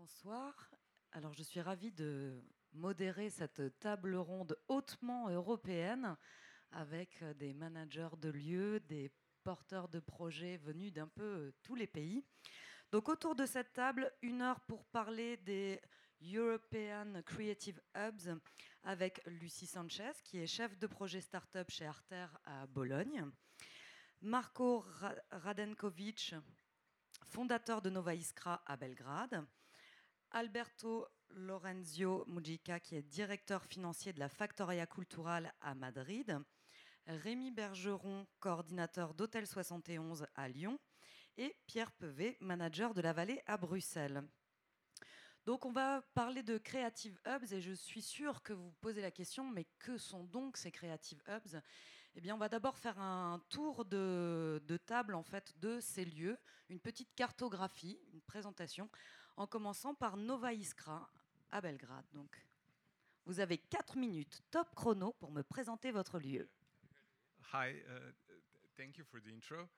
Bonsoir. Alors, je suis ravie de modérer cette table ronde hautement européenne avec des managers de lieux, des porteurs de projets venus d'un peu tous les pays. Donc, autour de cette table, 1 heure pour parler des European Creative Hubs avec Lucie Sanchez, qui est chef de projet startup chez Arter à Bologne. Marco Radenkovic, fondateur de Nova Iskra à Belgrade. Alberto Lorenzio Mujica, qui est directeur financier de la Factoria Cultural à Madrid. Rémi Bergeron, coordinateur d'Hôtel 71 à Lyon. Et Pierre Pevet, manager de la Vallée à Bruxelles. Donc on va parler de Creative Hubs et je suis sûre que vous vous posez la question, mais que sont donc ces Creative Hubs ? Eh bien, on va d'abord faire un tour de table en fait de ces lieux, une petite cartographie, une présentation, en commençant par Nova Iskra à Belgrade. Donc, vous avez 4 minutes, top chrono, pour me présenter votre lieu. Hi, thank you for the intro.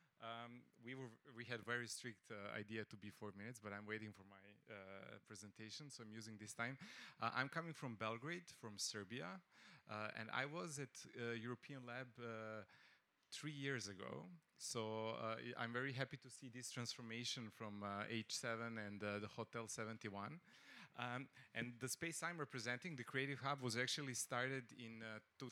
We had very strict idea to be 4 minutes, but I'm waiting for my presentation, so I'm using this time. I'm coming from Belgrade, from Serbia, and I was at European Lab 3 years ago. So I'm very happy to see this transformation from H7 and the Hotel 71. And the space I'm representing, the Creative Hub, was actually started in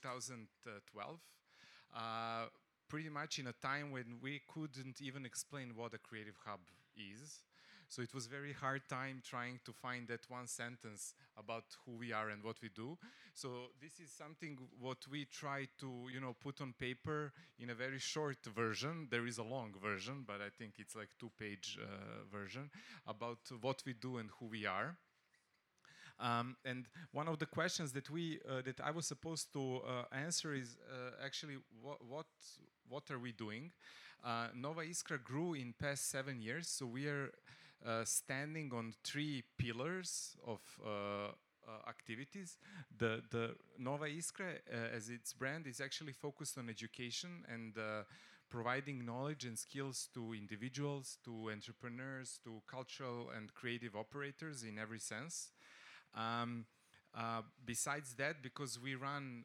2012. Pretty much in a time when we couldn't even explain what a creative hub is. So it was very hard time trying to find that one sentence about who we are and what we do. So this is something what we try to, put on paper in a very short version. There is a long version, but I think it's like 2-page version about what we do and who we are. And one of the questions that I was supposed to answer is actually what are we doing? Nova Iskra grew in past 7 years, so we are standing on 3 pillars of activities. The Nova Iskra, as its brand, is actually focused on education and providing knowledge and skills to individuals, to entrepreneurs, to cultural and creative operators in every sense. Besides that, because we run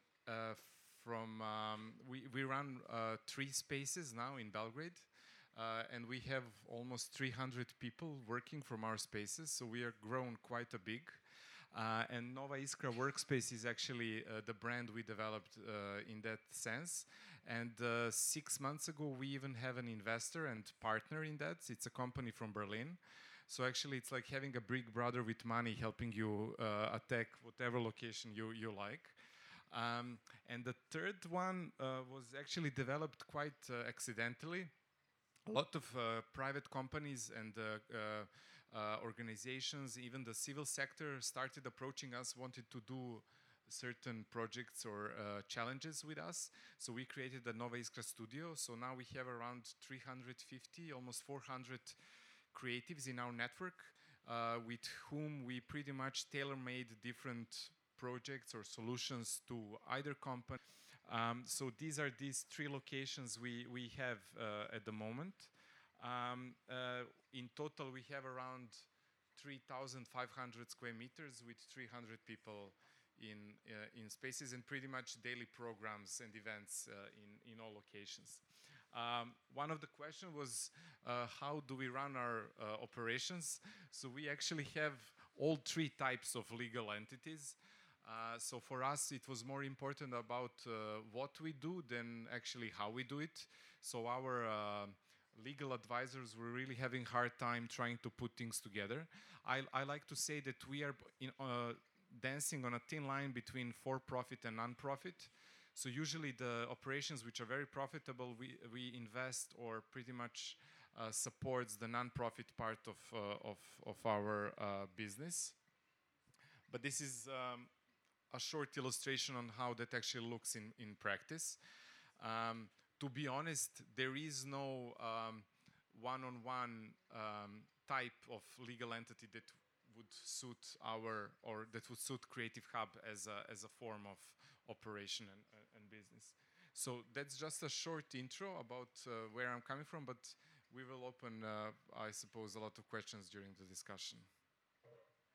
we run 3 spaces now in Belgrade, and we have almost 300 people working from our spaces, so we are grown quite a big. And Nova Iskra Workspace is actually the brand we developed in that sense. And 6 months ago, we even have an investor and partner in that. It's a company from Berlin. So actually, it's like having a big brother with money helping you attack whatever location you like. And the third one was actually developed quite accidentally. A lot of private companies and organizations, even the civil sector, started approaching us, wanted to do certain projects or challenges with us. So we created the Nova Iskra Studio. So now we have around 350, almost 400 creatives in our network with whom we pretty much tailor-made different projects or solutions to either company. So these are these 3 locations we have at the moment. In total, we have around 3,500 square meters with 300 people in spaces and pretty much daily programs and events in all locations. One of the questions was how do we run our operations? So we actually have all 3 types of legal entities. So for us, it was more important about what we do than actually how we do it. So our legal advisors were really having a hard time trying to put things together. I like to say that we are dancing on a thin line between for-profit and non-profit. So usually the operations which are very profitable, we invest or pretty much supports the non-profit part of our business. But this is a short illustration on how that actually looks in practice. To be honest, there is no one-on-one type of legal entity that would suit Creative Hub as a form of operation and business. So that's just a short intro about where I'm coming from, but we will open, I suppose, a lot of questions during the discussion.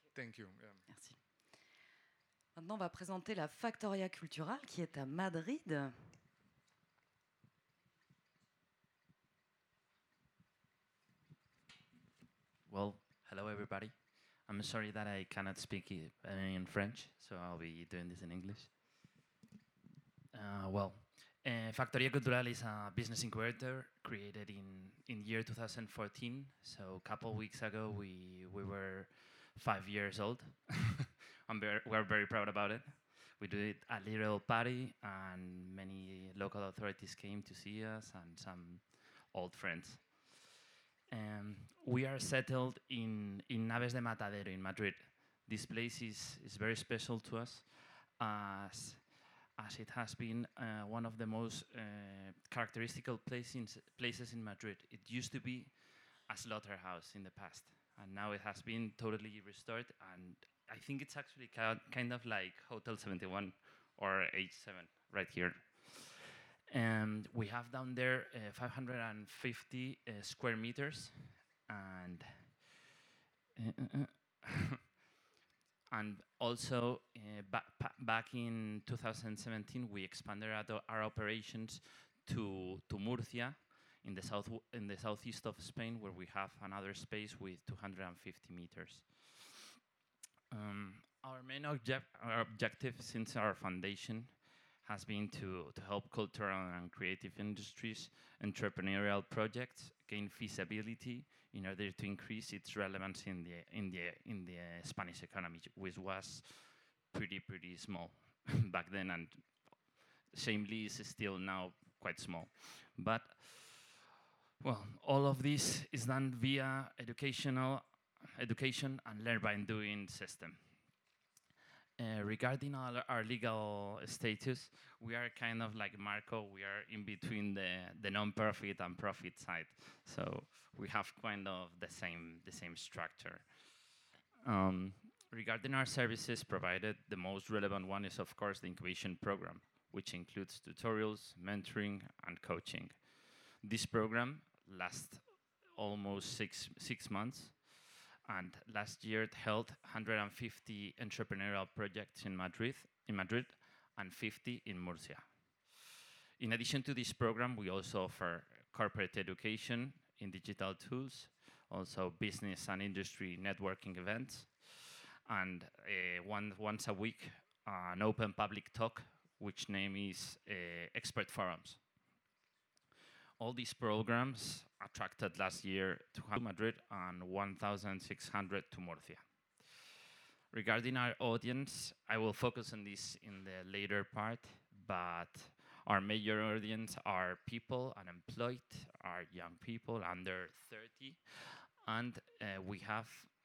Thank you. Yeah. Merci. Maintenant, on va présenter la Factoria Cultural qui est à Madrid. Well, hello everybody. I'm sorry that I cannot speak in French, so I'll be doing this in English. Factoria Cultural is a business incubator created in year 2014. So a couple weeks ago, we were 5 years old. We're very proud about it. We did a little party, and many local authorities came to see us, and some old friends. We are settled in Naves de Matadero in Madrid. This place is very special to us as it has been one of the most characteristical places in Madrid. It used to be a slaughterhouse in the past, and now it has been totally restored, and I think it's actually kind of like Hotel 71 or H7 right here. And we have down there 550 square meters, and and also back in 2017 we expanded our operations to Murcia in the southeast of Spain, where we have another space with 250 meters. Our main objective since our foundation has been to help cultural and creative industries, entrepreneurial projects gain feasibility in order to increase its relevance in the Spanish economy, which was pretty small back then, and shamefully is still now quite small. But well, all of this is done via education and learn by doing system. Regarding our legal status, we are kind of like Marco. We are in between the non-profit and profit side, so we have kind of the same structure. Regarding our services provided, the most relevant one is of course the incubation program, which includes tutorials, mentoring, and coaching. This program lasts almost six months. And last year it held 150 entrepreneurial projects in Madrid and 50 in Murcia. In addition to this program, we also offer corporate education in digital tools, also business and industry networking events, and once a week, an open public talk, which name is Expert Forums. All these programs attracted last year to Madrid and 1,600 to Murcia. Regarding our audience, I will focus on this in the later part, but our major audience are people unemployed, are young people under 30, and we have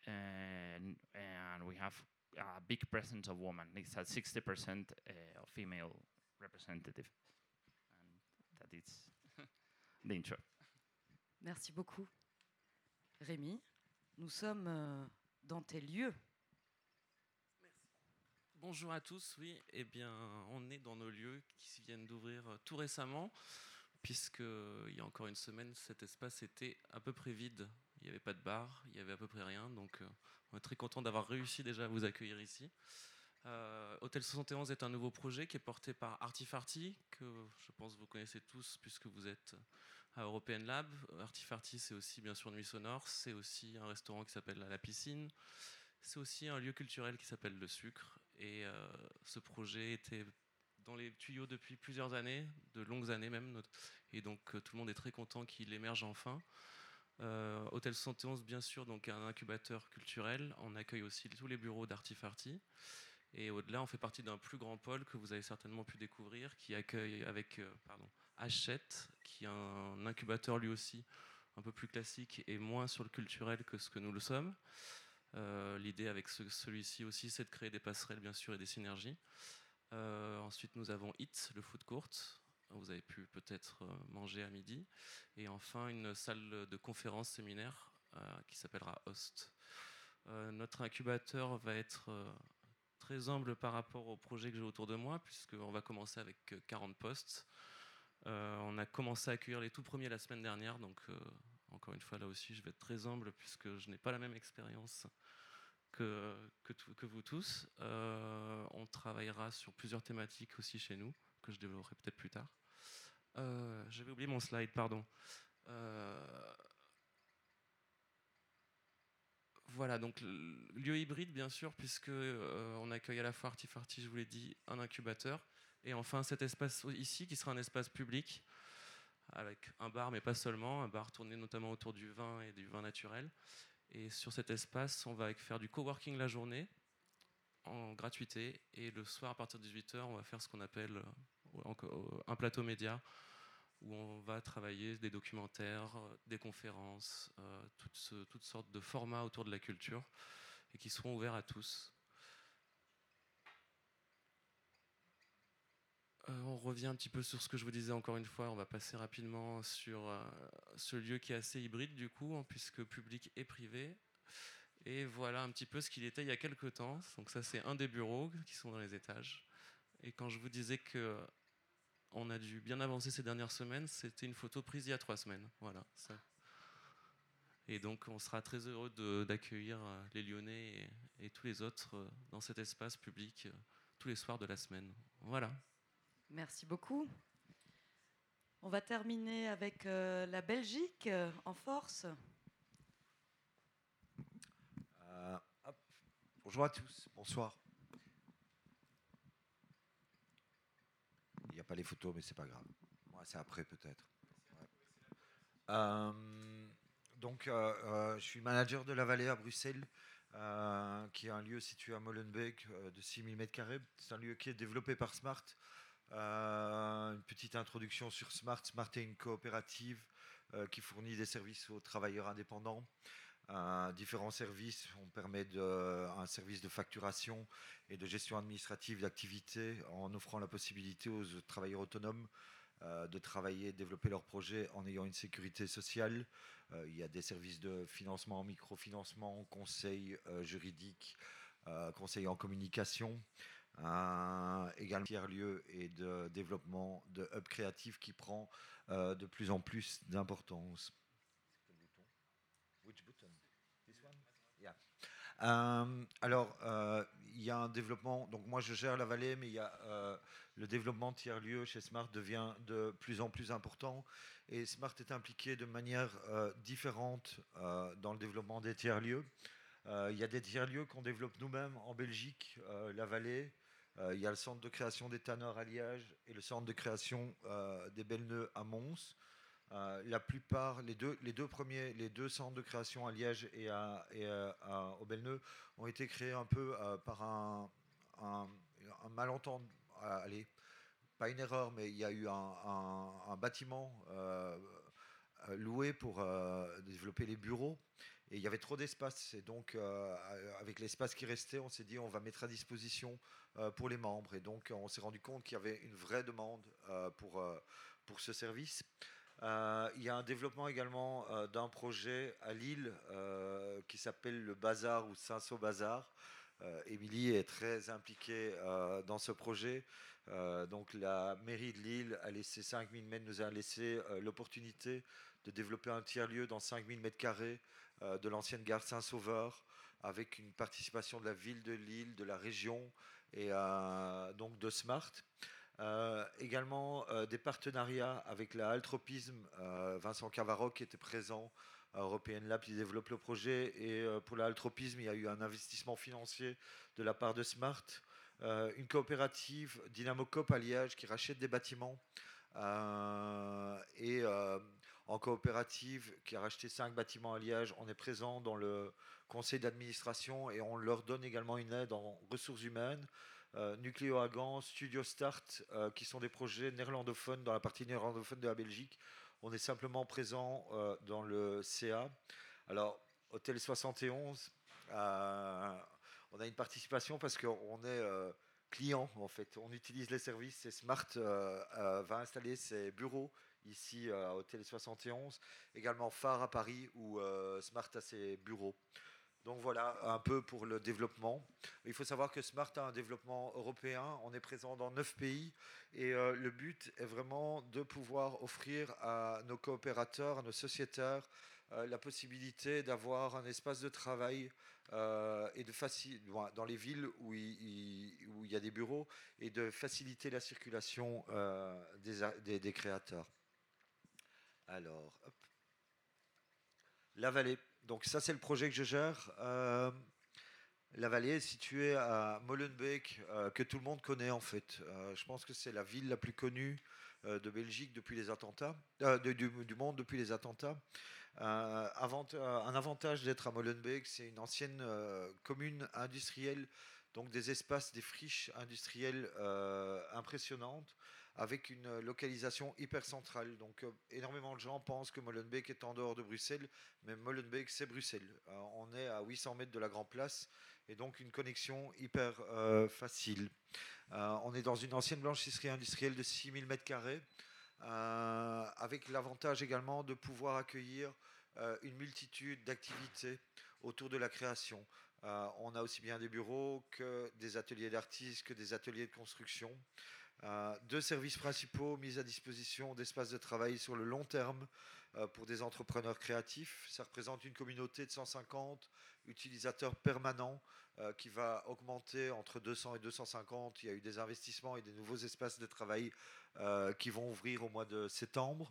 a big presence of women. It's at 60% of female representative, and that is l'intro. Merci beaucoup. Rémi, nous sommes dans tes lieux. Merci. Bonjour à tous, oui, eh bien, on est dans nos lieux qui viennent d'ouvrir tout récemment, puisqu'il y a encore une semaine, cet espace était à peu près vide. Il n'y avait pas de bar, il n'y avait à peu près rien, donc on est très content d'avoir réussi déjà à vous accueillir ici. Hôtel 71 est un nouveau projet qui est porté par Artifarty, que je pense vous connaissez tous puisque vous êtes à European Lab. Artifarty, c'est aussi bien sûr Nuit Sonore, c'est aussi un restaurant qui s'appelle La Piscine, c'est aussi un lieu culturel qui s'appelle Le Sucre. Et ce projet était dans les tuyaux depuis plusieurs années, de longues années même, et donc tout le monde est très content qu'il émerge enfin. Hôtel 71, bien sûr, donc un incubateur culturel. On accueille aussi tous les bureaux d'Artifarty. Et au-delà, on fait partie d'un plus grand pôle que vous avez certainement pu découvrir, qui accueille avec Hachette, qui est un incubateur lui aussi un peu plus classique et moins sur le culturel que ce que nous le sommes. L'idée avec celui-ci aussi, c'est de créer des passerelles, bien sûr, et des synergies. Ensuite, nous avons Hit, le food court. Vous avez pu peut-être manger à midi. Et enfin, une salle de conférence séminaire qui s'appellera Host. Notre incubateur va être très humble par rapport au projet que j'ai autour de moi, puisqu'on va commencer avec 40 postes. On a commencé à accueillir les tout premiers la semaine dernière, donc encore une fois, là aussi, je vais être très humble, puisque je n'ai pas la même expérience que vous tous. On travaillera sur plusieurs thématiques aussi chez nous, que je développerai peut-être plus tard. J'avais oublié mon slide, pardon. Voilà, donc lieu hybride, bien sûr, puisque on accueille à la fois Artifarty, je vous l'ai dit, un incubateur, et enfin cet espace ici, qui sera un espace public, avec un bar, mais pas seulement, un bar tourné notamment autour du vin et du vin naturel. Et sur cet espace, on va faire du coworking la journée, en gratuité, et le soir, à partir de 18h, on va faire ce qu'on appelle un plateau média, où on va travailler des documentaires, des conférences, toutes sortes de formats autour de la culture, et qui seront ouverts à tous. On revient un petit peu sur ce que je vous disais encore une fois, on va passer rapidement sur ce lieu qui est assez hybride du coup, puisque public et privé. Et voilà un petit peu ce qu'il était il y a quelques temps. Donc ça c'est un des bureaux qui sont dans les étages. Et quand je vous disais que on a dû bien avancer ces dernières semaines, c'était une photo prise il y a 3 semaines. Voilà. Ça. Et donc on sera très heureux d'accueillir les Lyonnais et tous les autres dans cet espace public tous les soirs de la semaine. Voilà. Merci beaucoup. On va terminer avec la Belgique en force. Bonjour à tous, bonsoir. Il n'y a pas les photos, mais c'est pas grave. Moi, c'est après peut-être. Ouais. Je suis manager de la Vallée à Bruxelles, qui est un lieu situé à Molenbeek de 6000 m². C'est un lieu qui est développé par Smart. Une petite introduction sur Smart. Smart est une coopérative qui fournit des services aux travailleurs indépendants. Différents services. On permet un service de facturation et de gestion administrative d'activité en offrant la possibilité aux travailleurs autonomes de travailler et de développer leurs projets en ayant une sécurité sociale. Il y a des services de financement, microfinancement, conseil juridique, conseil en communication. Également tiers-lieu et de développement de hub créatif qui prend de plus en plus d'importance. Which button? This one? Yeah. Il y a un développement, donc moi je gère la vallée, mais il y a le développement tiers-lieu chez Smart devient de plus en plus important et Smart est impliqué de manière différente dans le développement des tiers-lieux. Il y a des tiers-lieux qu'on développe nous-mêmes en Belgique, la vallée. Il y a le centre de création des tanneurs à Liège et le centre de création des Belles-Neux à Mons. La plupart, les deux centres de création à Liège et au Belles-Neux ont été créés un peu par un malentendu. Allez, pas une erreur, mais il y a eu un bâtiment loué pour développer les bureaux. Et il y avait trop d'espace. Et donc, avec l'espace qui restait, on s'est dit on va mettre à disposition pour les membres. Et donc, on s'est rendu compte qu'il y avait une vraie demande pour ce service. Il y a un développement également d'un projet à Lille qui s'appelle le Bazar ou Cinsault Bazar. Émilie est très impliquée dans ce projet. Donc la mairie de Lille a laissé 5000 mètres, nous a laissé l'opportunité de développer un tiers-lieu dans 5000 m² de l'ancienne gare Saint-Sauveur, avec une participation de la ville de Lille, de la région et donc de Smart. Également des partenariats avec la Altropisme, Vincent Cavaro qui était présent à European Lab qui développe le projet, et pour la Altropisme il y a eu un investissement financier de la part de Smart, une coopérative Dynamocop à Liège qui rachète des bâtiments en coopérative qui a racheté 5 bâtiments à Liège. On est présent dans le conseil d'administration et on leur donne également une aide en ressources humaines. Nucléo Hagan, Studio Start, qui sont des projets néerlandophones dans la partie néerlandophone de la Belgique. On est simplement présent dans le CA. Alors, Hôtel 71, on a une participation parce qu'on est client en fait. On utilise les services et Smart va installer ses bureaux ici à Hôtel 71. Également Phare à Paris où Smart a ses bureaux. Donc voilà un peu pour le développement. Il faut savoir que Smart a un développement européen. On est présent dans 9 pays et le but est vraiment de pouvoir offrir à nos coopérateurs, à nos sociétaires, la possibilité d'avoir un espace de travail et dans les villes où il y a des bureaux et de faciliter la circulation des créateurs. Alors, hop. La Vallée. Donc ça, c'est le projet que je gère. La Vallée est située à Molenbeek, que tout le monde connaît en fait. Je pense que c'est la ville la plus connue de Belgique depuis les attentats, du monde depuis les attentats. Un avantage d'être à Molenbeek, c'est une ancienne commune industrielle, donc des espaces, des friches industrielles impressionnantes, avec une localisation hyper centrale. Donc énormément de gens pensent que Molenbeek est en dehors de Bruxelles, mais Molenbeek c'est Bruxelles. On est à 800 mètres de la Grand Place, et donc une connexion hyper facile. On est dans une ancienne blanchisserie industrielle de 6000 m², avec l'avantage également de pouvoir accueillir une multitude d'activités autour de la création. On a aussi bien des bureaux que des ateliers d'artistes, que des ateliers de construction. 2 services principaux mis à disposition d'espaces de travail sur le long terme pour des entrepreneurs créatifs. Ça représente une communauté de 150 utilisateurs permanents qui va augmenter entre 200 et 250. Il y a eu des investissements et des nouveaux espaces de travail qui vont ouvrir au mois de septembre.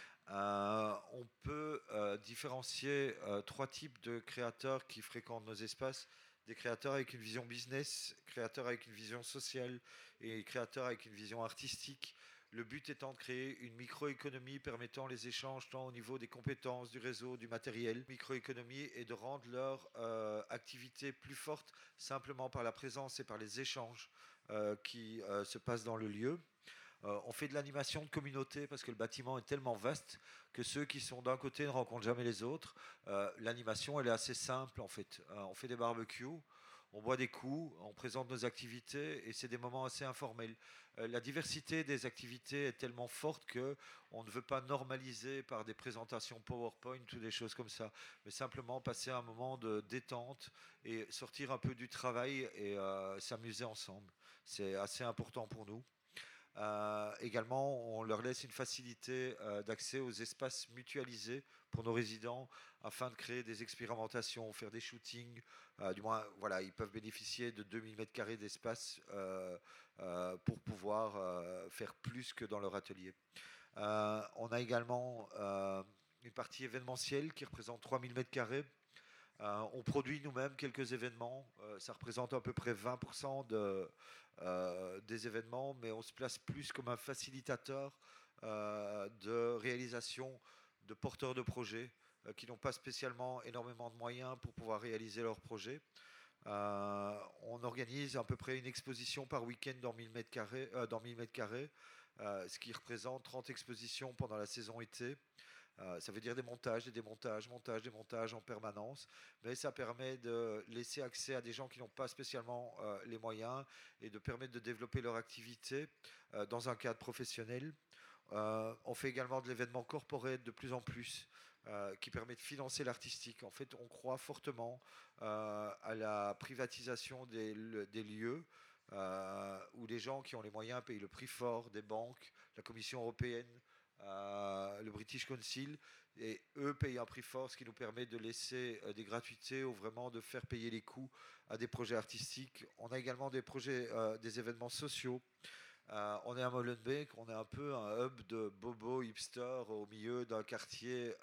On peut différencier 3 types de créateurs qui fréquentent nos espaces. Des créateurs avec une vision business, créateurs avec une vision sociale et créateurs avec une vision artistique. Le but étant de créer une microéconomie permettant les échanges tant au niveau des compétences, du réseau, du matériel. Microéconomie et de rendre leur activité plus forte simplement par la présence et par les échanges qui se passent dans le lieu. On fait de l'animation de communauté parce que le bâtiment est tellement vaste que ceux qui sont d'un côté ne rencontrent jamais les autres. L'animation, elle est assez simple en fait. On fait des barbecues, on boit des coups, on présente nos activités et c'est des moments assez informels. La diversité des activités est tellement forte qu'on ne veut pas normaliser par des présentations PowerPoint ou des choses comme ça, mais simplement passer un moment de détente et sortir un peu du travail et s'amuser ensemble. C'est assez important pour nous. Également, on leur laisse une facilité d'accès aux espaces mutualisés pour nos résidents afin de créer des expérimentations, faire des shootings. Du moins, voilà, ils peuvent bénéficier de 2000 m² d'espace pour pouvoir faire plus que dans leur atelier. On a également une partie événementielle qui représente 3000 m². On produit nous-mêmes quelques événements. Ça représente à peu près 20% des événements, mais on se place plus comme un facilitateur de réalisation de porteurs de projets qui n'ont pas spécialement énormément de moyens pour pouvoir réaliser leurs projets. On organise à peu près une exposition par week-end dans 1000 m², ce qui représente 30 expositions pendant la saison été. Ça veut dire des montages en permanence, mais ça permet de laisser accès à des gens qui n'ont pas spécialement les moyens et de permettre de développer leur activité dans un cadre professionnel. On fait également de l'événement corporate de plus en plus qui permet de financer l'artistique. En fait, on croit fortement à la privatisation des lieux où les gens qui ont les moyens payent le prix fort des banques, la Commission européenne, le British Council, et eux payent un prix fort, ce qui nous permet de laisser des gratuités ou vraiment de faire payer les coûts à des projets artistiques. On a également des projets, des événements sociaux. On est à Molenbeek, on est un peu un hub de bobo hipster au milieu d'un quartier.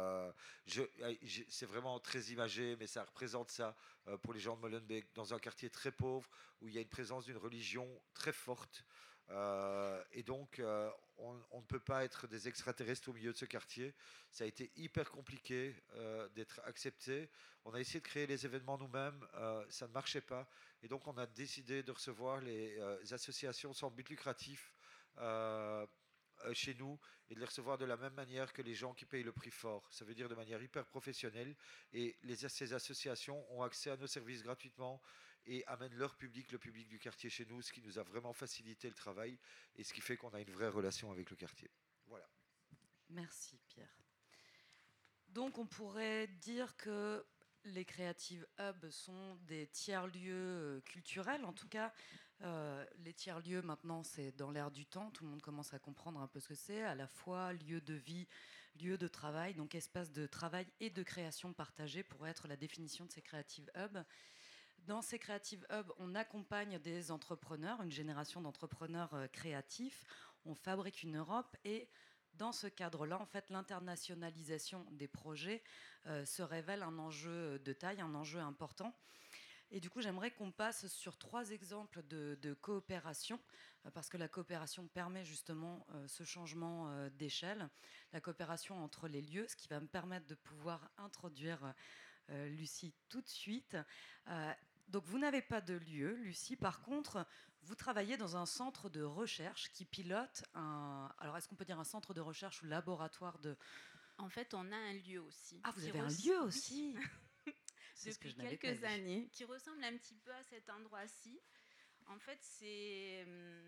C'est vraiment très imagé, mais ça représente ça pour les gens de Molenbeek, dans un quartier très pauvre où il y a une présence d'une religion très forte. Et donc, on ne peut pas être des extraterrestres au milieu de ce quartier. Ça a été hyper compliqué d'être accepté. On a essayé de créer les événements nous-mêmes, ça ne marchait pas. Et donc, on a décidé de recevoir les associations sans but lucratif chez nous et de les recevoir de la même manière que les gens qui payent le prix fort. Ça veut dire de manière hyper professionnelle. Et ces associations ont accès à nos services gratuitement et amènent leur public, le public du quartier chez nous, ce qui nous a vraiment facilité le travail et ce qui fait qu'on a une vraie relation avec le quartier. Voilà. Merci Pierre. Donc on pourrait dire que les Creative Hubs sont des tiers-lieux culturels. En tout cas, les tiers-lieux, maintenant, c'est dans l'air du temps. Tout le monde commence à comprendre un peu ce que c'est. À la fois lieu de vie lieu de travail, donc espace de travail et de création partagée pourrait être la définition de ces Creative Hubs. Dans ces Creative Hubs, on accompagne des entrepreneurs, une génération d'entrepreneurs créatifs, on fabrique une Europe et dans ce cadre-là, en fait, l'internationalisation des projets se révèle un enjeu de taille, un enjeu important. Et du coup, j'aimerais qu'on passe sur 3 exemples de coopération, parce que la coopération permet justement ce changement d'échelle. La coopération entre les lieux, ce qui va me permettre de pouvoir introduire Lucie tout de suite. Donc, vous n'avez pas de lieu, Lucie. Par contre, vous travaillez dans un centre de recherche qui pilote un... Alors, est-ce qu'on peut dire un centre de recherche ou laboratoire de... En fait, on a un lieu aussi. Ah, vous avez un lieu aussi. Depuis quelques années, qui ressemble un petit peu à cet endroit-ci. En fait, c'est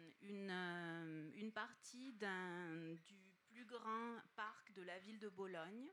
une partie du plus grand parc de la ville de Bologne.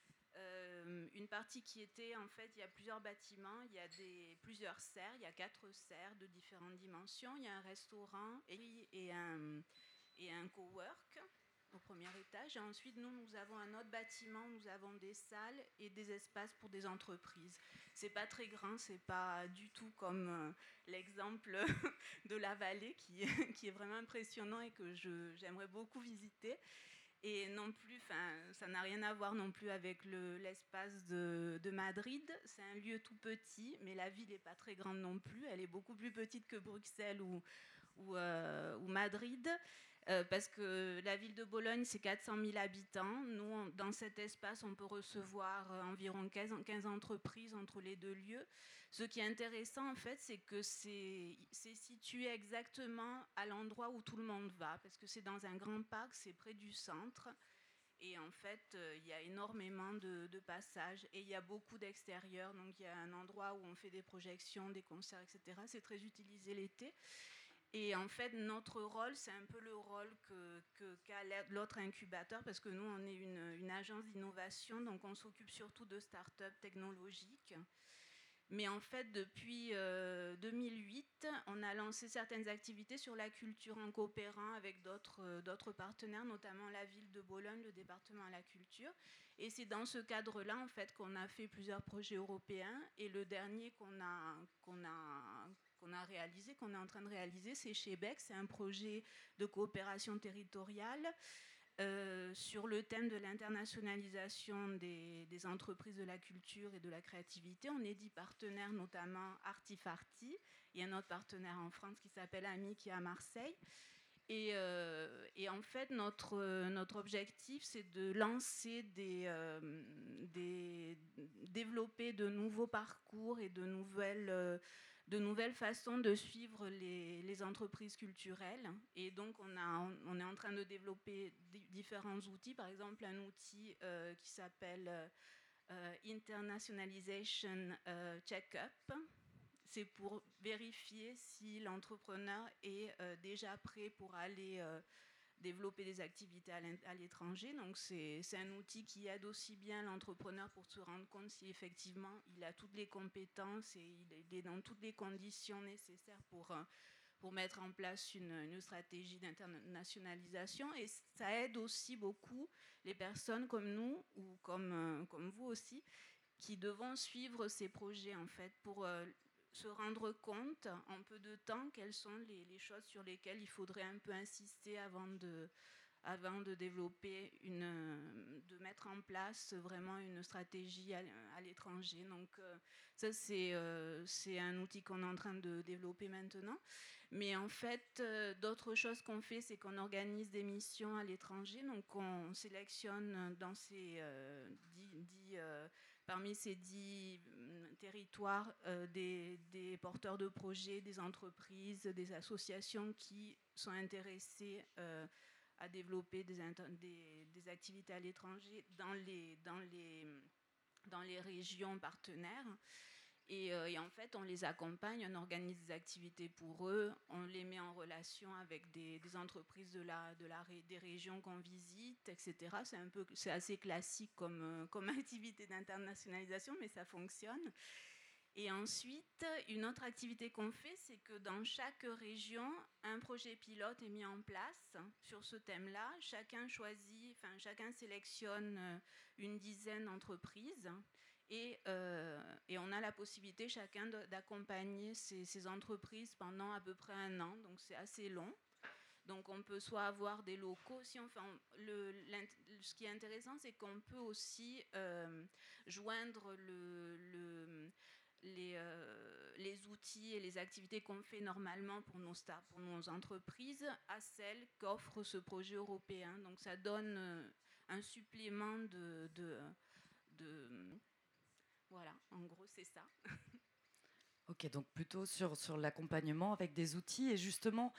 Une partie qui était, en fait, il y a plusieurs bâtiments, il y a plusieurs serres, il y a 4 serres de différentes dimensions, il y a un restaurant et un cowork au premier étage. Et ensuite, nous avons un autre bâtiment, nous avons des salles et des espaces pour des entreprises. C'est pas très grand, c'est pas du tout comme l'exemple de la vallée qui est vraiment impressionnant et que j'aimerais beaucoup visiter. Et non plus, ça n'a rien à voir non plus avec l'espace de Madrid. C'est un lieu tout petit, mais la ville n'est pas très grande non plus. Elle est beaucoup plus petite que Bruxelles ou Madrid. Parce que la ville de Bologne, c'est 400 000 habitants. Nous, dans cet espace, on peut recevoir environ 15 entreprises entre les 2 lieux. Ce qui est intéressant, en fait, c'est que c'est situé exactement à l'endroit où tout le monde va, parce que c'est dans un grand parc, c'est près du centre. Et en fait, il y a énormément de passages et il y a beaucoup d'extérieurs. Donc, il y a un endroit où on fait des projections, des concerts, etc. C'est très utilisé l'été. Et en fait, notre rôle, c'est un peu le rôle qu'a l'autre incubateur, parce que nous, on est une agence d'innovation, donc on s'occupe surtout de start-up technologiques. Mais en fait, depuis 2008, on a lancé certaines activités sur la culture en coopérant avec d'autres partenaires, notamment la ville de Bologne, le département à la culture. Et c'est dans ce cadre-là, en fait, qu'on a fait plusieurs projets européens. Et le dernier qu'on a réalisé, qu'on est en train de réaliser, c'est chez Beck. C'est un projet de coopération territoriale sur le thème de l'internationalisation des entreprises de la culture et de la créativité. On est 10 partenaires, notamment Artifarty. Il y a un autre partenaire en France qui s'appelle AMI, qui est à Marseille. Et en fait, notre objectif, c'est de lancer développer de nouveaux parcours et de nouvelles façons de suivre les entreprises culturelles. Et donc, on est en train de développer différents outils. Par exemple, un outil qui s'appelle Internationalization Check-up. C'est pour vérifier si l'entrepreneur est déjà prêt pour aller développer des activités à l'étranger. Donc, c'est un outil qui aide aussi bien l'entrepreneur pour se rendre compte si effectivement il a toutes les compétences et il est dans toutes les conditions nécessaires pour mettre en place une stratégie d'internationalisation. Et ça aide aussi beaucoup les personnes comme nous ou comme vous aussi qui devons suivre ces projets en fait pour se rendre compte en peu de temps quelles sont les choses sur lesquelles il faudrait un peu insister avant de développer de mettre en place vraiment une stratégie à l'étranger. Donc ça c'est un outil qu'on est en train de développer maintenant. Mais en fait, d'autres choses qu'on fait, c'est qu'on organise des missions à l'étranger. Donc on sélectionne dans parmi ces 10 territoires des porteurs de projets, des entreprises, des associations qui sont intéressées à développer des activités à l'étranger dans les régions partenaires. Et en fait, on les accompagne, on organise des activités pour eux, on les met en relation avec des entreprises des régions qu'on visite, etc. C'est assez classique comme activité d'internationalisation, mais ça fonctionne. Et ensuite, une autre activité qu'on fait, c'est que dans chaque région, un projet pilote est mis en place sur ce thème-là. Chacun sélectionne une dizaine d'entreprises et on a la possibilité chacun d'accompagner ces entreprises pendant à peu près 1 an, donc c'est assez long. Donc on peut soit avoir des locaux, ce qui est intéressant, c'est qu'on peut aussi joindre les outils et les activités qu'on fait normalement pour nos entreprises à celles qu'offre ce projet européen. Donc ça donne un supplément voilà, en gros c'est ça. Ok, donc plutôt sur l'accompagnement avec des outils. Et justement,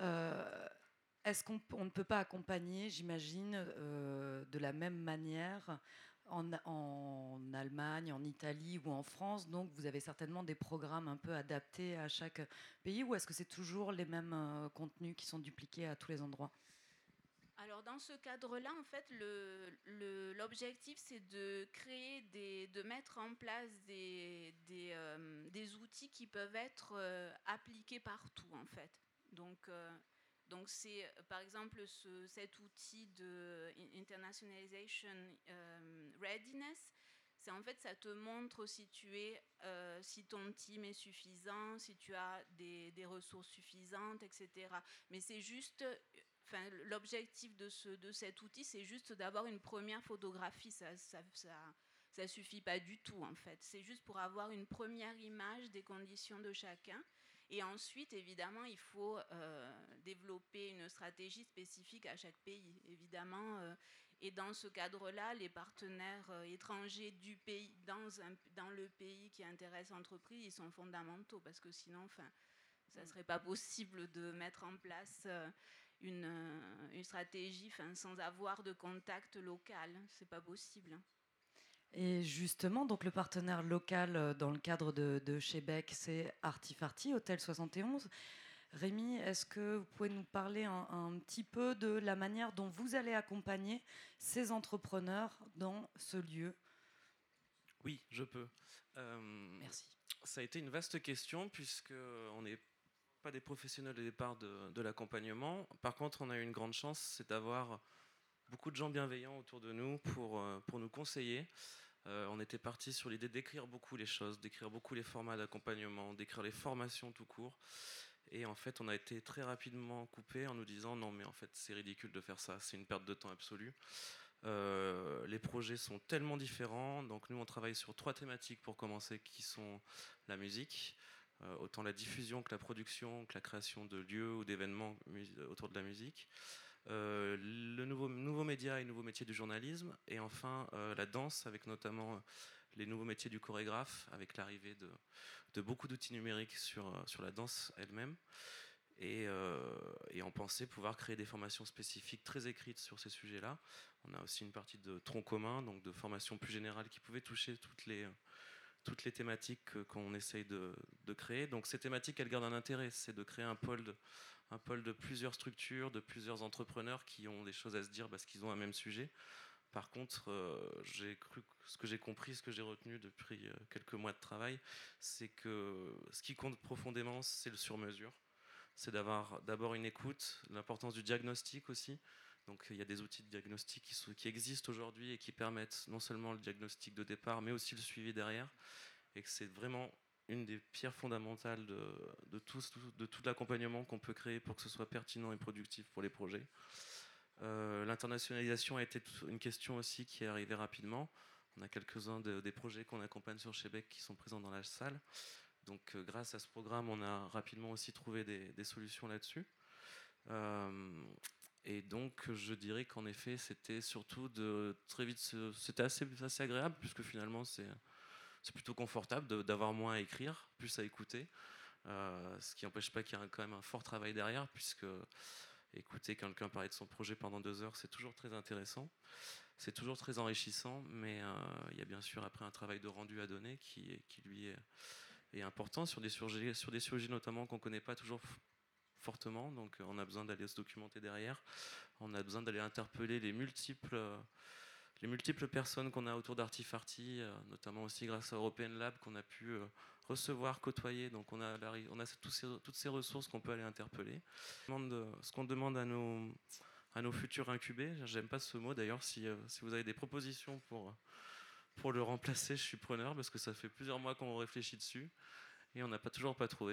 est-ce qu'on ne peut pas accompagner, j'imagine, de la même manière en Allemagne, en Italie ou en France? Donc vous avez certainement des programmes un peu adaptés à chaque pays, ou est-ce que c'est toujours les mêmes contenus qui sont dupliqués à tous les endroits? Alors dans ce cadre-là, en fait, l'objectif, c'est de de mettre en place des outils qui peuvent être appliqués partout, en fait. Donc c'est par exemple cet outil de Internationalization Readiness. C'est en fait, ça te montre si ton team est suffisant, si tu as des ressources suffisantes, etc. Mais c'est juste, l'objectif de cet outil, c'est juste d'avoir une première photographie. Ça suffit pas du tout, en fait. C'est juste pour avoir une première image des conditions de chacun. Et ensuite, évidemment, il faut développer une stratégie spécifique à chaque pays, évidemment. Et dans ce cadre-là, les partenaires étrangers du pays, dans le pays qui intéresse l'entreprise, ils sont fondamentaux, parce que sinon, ça ne serait pas possible de mettre en place une stratégie sans avoir de contact local. Ce n'est pas possible. Et justement, donc le partenaire local dans le cadre de chez Beck, c'est Artifarty, Hôtel 71. Rémi, est-ce que vous pouvez nous parler un petit peu de la manière dont vous allez accompagner ces entrepreneurs dans ce lieu? Oui, je peux. Merci. Ça a été une vaste question, puisqu'on n'est pas des professionnels au départ de l'accompagnement. Par contre, on a eu une grande chance, c'est d'avoir beaucoup de gens bienveillants autour de nous pour nous conseiller. On était parti sur l'idée d'écrire beaucoup les choses, d'écrire beaucoup les formats d'accompagnement, d'écrire les formations tout court. Et en fait, on a été très rapidement coupé en nous disant non, mais en fait, c'est ridicule de faire ça, c'est une perte de temps absolue. Les projets sont tellement différents. Donc nous, on travaille sur 3 thématiques pour commencer, qui sont la musique, autant la diffusion que la production, que la création de lieux ou d'événements autour de la musique. Le nouveau média et nouveau métier du journalisme, et enfin la danse, avec notamment les nouveaux métiers du chorégraphe, avec l'arrivée de beaucoup d'outils numériques sur la danse elle-même. Et on pensait pouvoir créer des formations spécifiques très écrites sur ces sujets-là. On a aussi une partie de tronc commun, donc de formation plus générale qui pouvait toucher toutes les thématiques qu'on essaye de créer. Donc ces thématiques, elles gardent un intérêt, c'est de créer un pôle de plusieurs structures, de plusieurs entrepreneurs qui ont des choses à se dire parce qu'ils ont un même sujet. Par contre, ce que j'ai compris, ce que j'ai retenu depuis quelques mois de travail, c'est que ce qui compte profondément, c'est le sur-mesure. C'est d'avoir d'abord une écoute, l'importance du diagnostic aussi. Donc il y a des outils de diagnostic qui existent aujourd'hui et qui permettent non seulement le diagnostic de départ, mais aussi le suivi derrière. Et que c'est vraiment une des pierres fondamentales de tout l'accompagnement qu'on peut créer pour que ce soit pertinent et productif pour les projets. L'internationalisation a été une question aussi qui est arrivée rapidement. On a quelques-uns des projets qu'on accompagne sur chez Beck qui sont présents dans la salle. Donc grâce à ce programme, on a rapidement aussi trouvé des solutions là-dessus. Et donc je dirais qu'en effet, c'était surtout très vite, c'était assez agréable, puisque finalement c'est plutôt confortable d'avoir moins à écrire, plus à écouter. Ce qui n'empêche pas qu'il y a quand même un fort travail derrière, puisque écouter quelqu'un parler de son projet pendant 2 heures, c'est toujours très intéressant, c'est toujours très enrichissant, mais il y a bien sûr après un travail de rendu à donner qui lui est important sur des sujets notamment qu'on ne connaît pas toujours fortement, donc on a besoin d'aller se documenter derrière, on a besoin d'aller interpeller les multiples personnes qu'on a autour d'Artifarty, notamment aussi grâce à European Lab qu'on a pu recevoir, côtoyer. Donc on a toutes ces ressources qu'on peut aller interpeller. Ce qu'on demande à nos futurs incubés, j'aime pas ce mot d'ailleurs, si vous avez des propositions pour le remplacer, je suis preneur, parce que ça fait plusieurs mois qu'on réfléchit dessus et on n'a toujours pas trouvé.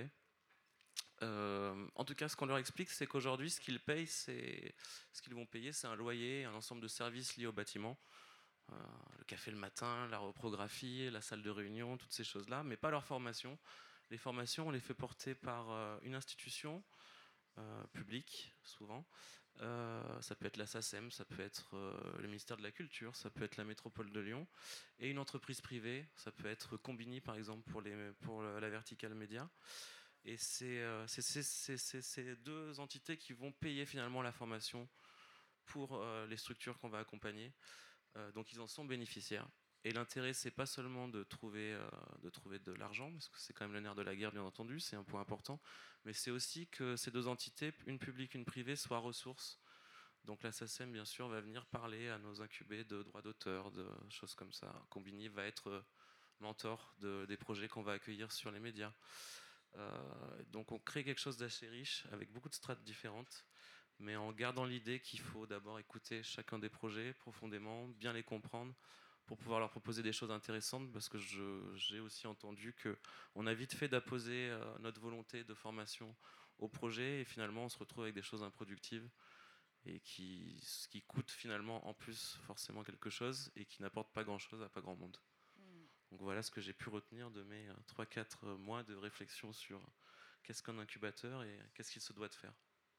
En tout cas, ce qu'on leur explique, c'est qu'aujourd'hui, ce qu'ils vont payer, c'est un loyer, un ensemble de services liés au bâtiment. Le café le matin, la reprographie, la salle de réunion, toutes ces choses-là, mais pas leur formation. Les formations, on les fait porter par une institution publique, souvent. Ça peut être la SACEM, ça peut être le ministère de la Culture, ça peut être la métropole de Lyon, et une entreprise privée, ça peut être Combini, par exemple, pour la verticale média. Et c'est ces deux entités qui vont payer finalement la formation pour les structures qu'on va accompagner. Donc ils en sont bénéficiaires. Et l'intérêt, c'est pas seulement de trouver de l'argent, parce que c'est quand même le nerf de la guerre, bien entendu, c'est un point important, mais c'est aussi que ces deux entités, une publique, une privée, soient ressources. Donc la SACEM, bien sûr, va venir parler à nos incubés de droits d'auteur, de choses comme ça. Combini va être mentor des projets qu'on va accueillir sur les médias. Donc on crée quelque chose d'assez riche, avec beaucoup de strates différentes, mais en gardant l'idée qu'il faut d'abord écouter chacun des projets profondément, bien les comprendre, pour pouvoir leur proposer des choses intéressantes, parce que j'ai aussi entendu qu'on a vite fait d'apposer notre volonté de formation au projet, et finalement on se retrouve avec des choses improductives, et qui coûtent finalement en plus forcément quelque chose, et qui n'apportent pas grand-chose à pas grand monde. Donc voilà ce que j'ai pu retenir de mes 3-4 mois de réflexion sur qu'est-ce qu'un incubateur et qu'est-ce qu'il se doit de faire.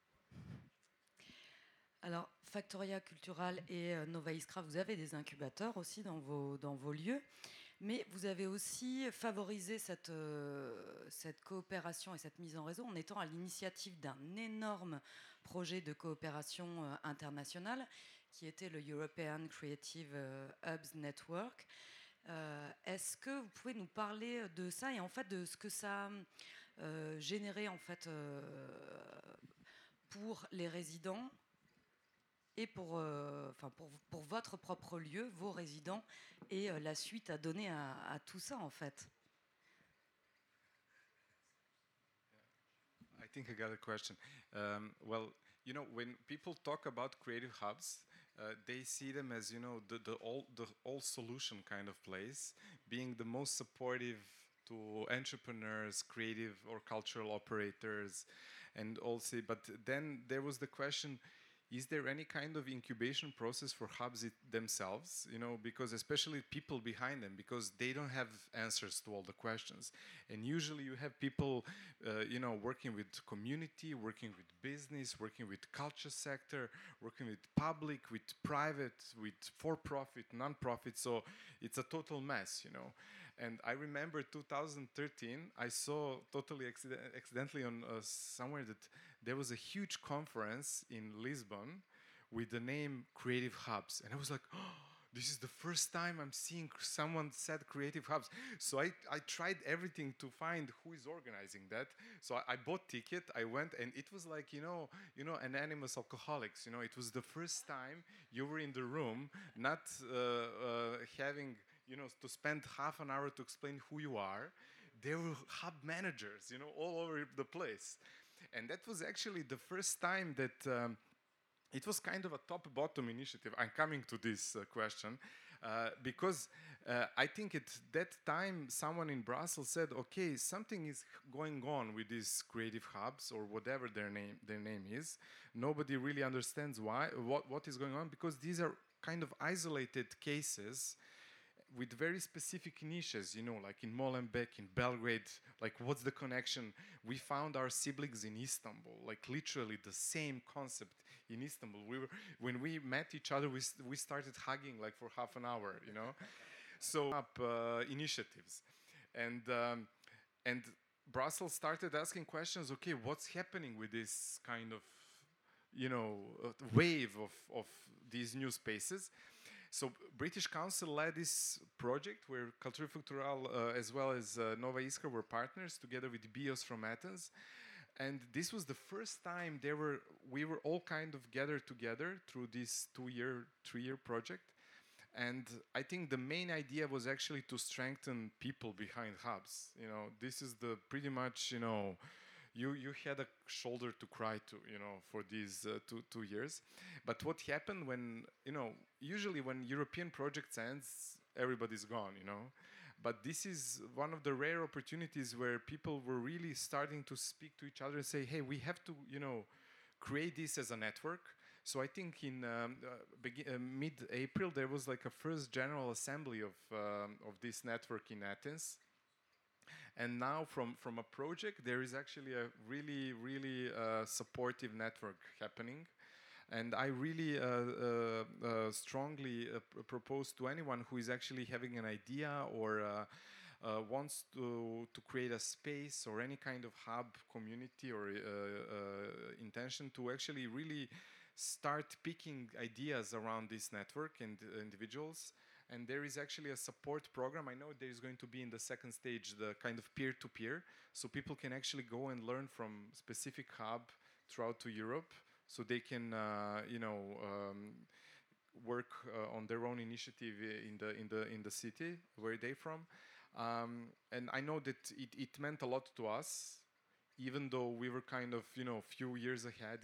Alors, Factoria Cultural et Nova Iskra, vous avez des incubateurs aussi dans vos lieux, mais vous avez aussi favorisé cette coopération et cette mise en réseau en étant à l'initiative d'un énorme projet de coopération internationale qui était le European Creative Hubs Network. Est-ce que vous pouvez nous parler de ça et en fait de ce que ça a généré en fait pour les résidents et pour votre propre lieu, vos résidents, et la suite à donner à tout ça en fait? I think I got a question. Well, you know, when people talk about creative hubs, they see them as, you know, the all solution kind of place, being the most supportive to entrepreneurs, creative or cultural operators, and also. But then there was the question: is there any kind of incubation process for hubs themselves? You know, because especially people behind them, because they don't have answers to all the questions. And usually you have people, you know, working with community, working with business, working with culture sector, working with public, with private, with for-profit, non-profit. So it's a total mess, you know. And I remember 2013, I saw totally accidentally on somewhere that there was a huge conference in Lisbon with the name Creative Hubs. And I was like, oh, this is the first time I'm seeing someone said Creative Hubs. So I tried everything to find who is organizing that. So I bought ticket, I went, and it was like, you know, Anonymous Alcoholics. You know, it was the first time you were in the room, not having, you know, to spend half an hour to explain who you are. There were hub managers, you know, all over the place. And that was actually the first time that it was kind of a top-bottom initiative. I'm coming to this question because I think at that time someone in Brussels said, okay, something is going on with these creative hubs or whatever their name is. Nobody really understands what is going on, because these are kind of isolated cases with very specific niches, you know, like in Molenbeek, in Belgrade, like what's the connection? We found our siblings in Istanbul, like literally the same concept in Istanbul. When we met each other, we started hugging like for half an hour, you know. So initiatives, and Brussels started asking questions. Okay, what's happening with this kind of, you know, wave of these new spaces? So British Council led this project where Cultura Futural as well as Nova Iskra were partners together with BIOS from Athens. And this was the first time we were all kind of gathered together through this 3-year project. And I think the main idea was actually to strengthen people behind hubs. This is the pretty much, you had a shoulder to cry to, for these 2 years. But what happened when, usually when European projects ends, everybody's gone, But this is one of the rare opportunities where people were really starting to speak to each other and say, hey, we have to, create this as a network. So I think in mid-April, there was like a first general assembly of this network in Athens. And now from a project, there is actually a really, really supportive network happening. And I really strongly propose to anyone who is actually having an idea or wants to create a space or any kind of hub, community or intention to actually really start picking ideas around this network and individuals. And there is actually a support program. I know there is going to be in the second stage the kind of peer-to-peer, so people can actually go and learn from specific hub throughout to Europe, so they can work on their own initiative in the city where they're from. And I know that it meant a lot to us, even though we were kind of few years ahead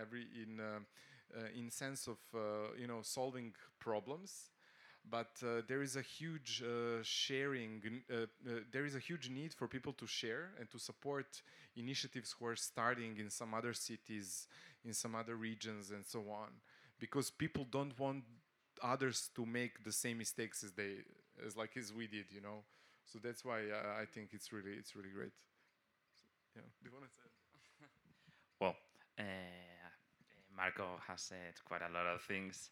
in sense of solving problems. But there is a huge sharing. There is a huge need for people to share and to support initiatives who are starting in some other cities, in some other regions, and so on, because people don't want others to make the same mistakes as we did, So that's why I think it's really great. So, do you want to say? Well. Marco has said quite a lot of things.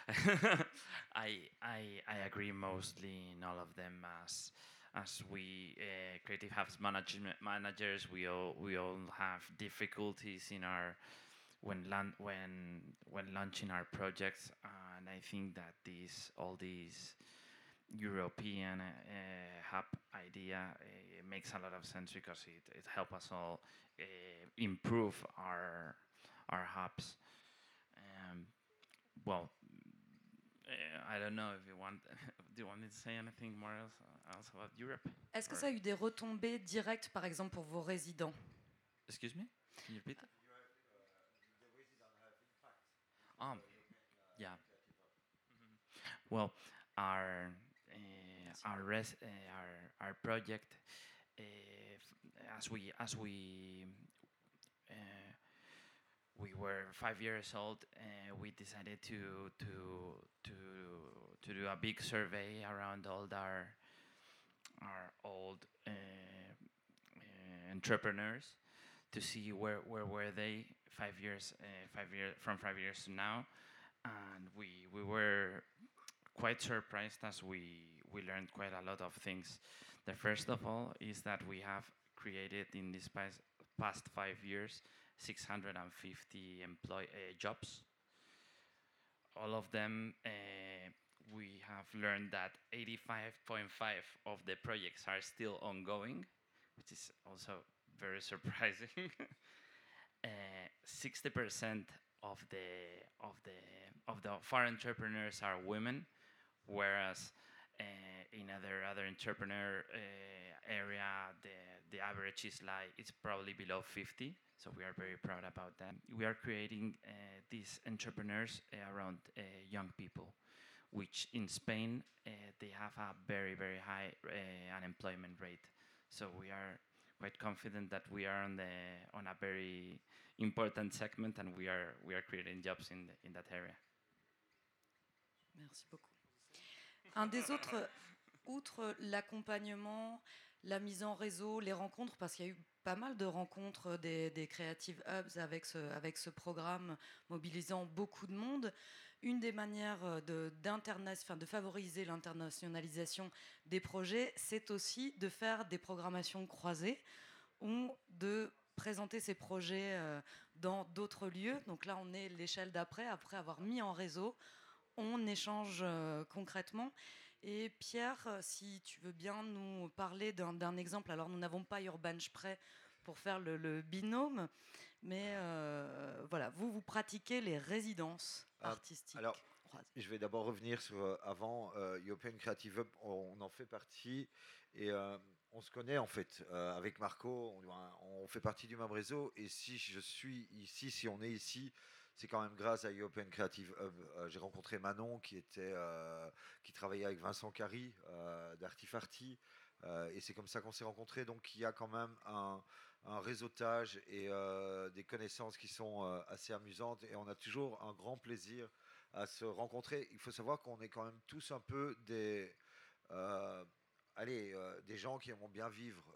I agree mostly in all of them. As we creative hubs managers, we all have difficulties in our when launching our projects, and I think that all these European hub idea makes a lot of sense because it helps us all improve our hubs. I don't know if you want. Do you want me to say anything more else about Europe? Est-ce que ça a eu des retombées directes, par exemple, pour vos résidents? Excuse me? Can you repeat? Yeah. Well, our project, as we were 5 years old, we decided to do a big survey around all our old entrepreneurs to see where were they 5 years from 5 years to now, and we were quite surprised as we learned quite a lot of things. The first of all is that we have created in this past 5 years 650 jobs. All of them, we have learned that 85.5% of the projects are still ongoing, which is also very surprising. 60% of the foreign entrepreneurs are women, whereas in other entrepreneur area, the average is it's probably below 50. So we are very proud about that. We are creating these entrepreneurs around young people, which in Spain they have a very, very high unemployment rate. So we are quite confident that we are on a very important segment, and we are creating jobs in that area. Merci beaucoup. Un des autres, outre l'accompagnement, la mise en réseau, les rencontres, parce qu'il y a eu pas mal de rencontres des Creative Hubs avec ce programme mobilisant beaucoup de monde. Une des manières de favoriser l'internationalisation des projets, c'est aussi de faire des programmations croisées ou de présenter ces projets dans d'autres lieux. Donc là, on est l'échelle d'après, après avoir mis en réseau, on échange concrètement. Et Pierre, si tu veux bien nous parler d'un exemple. Alors, nous n'avons pas Urbanche prêt pour faire le binôme, mais voilà, vous pratiquez les résidences artistiques. Alors, croise. Je vais d'abord revenir sur avant European Creative Hub, on en fait partie et on se connaît en fait avec Marco, on fait partie du même réseau et si je suis ici, si on est ici, c'est quand même grâce à European Creative Hub. J'ai rencontré Manon qui travaillait avec Vincent Carry d'Artifarty et c'est comme ça qu'on s'est rencontrés. Donc il y a quand même un réseautage et des connaissances qui sont assez amusantes et on a toujours un grand plaisir à se rencontrer. Il faut savoir qu'on est quand même tous un peu des des gens qui aiment bien vivre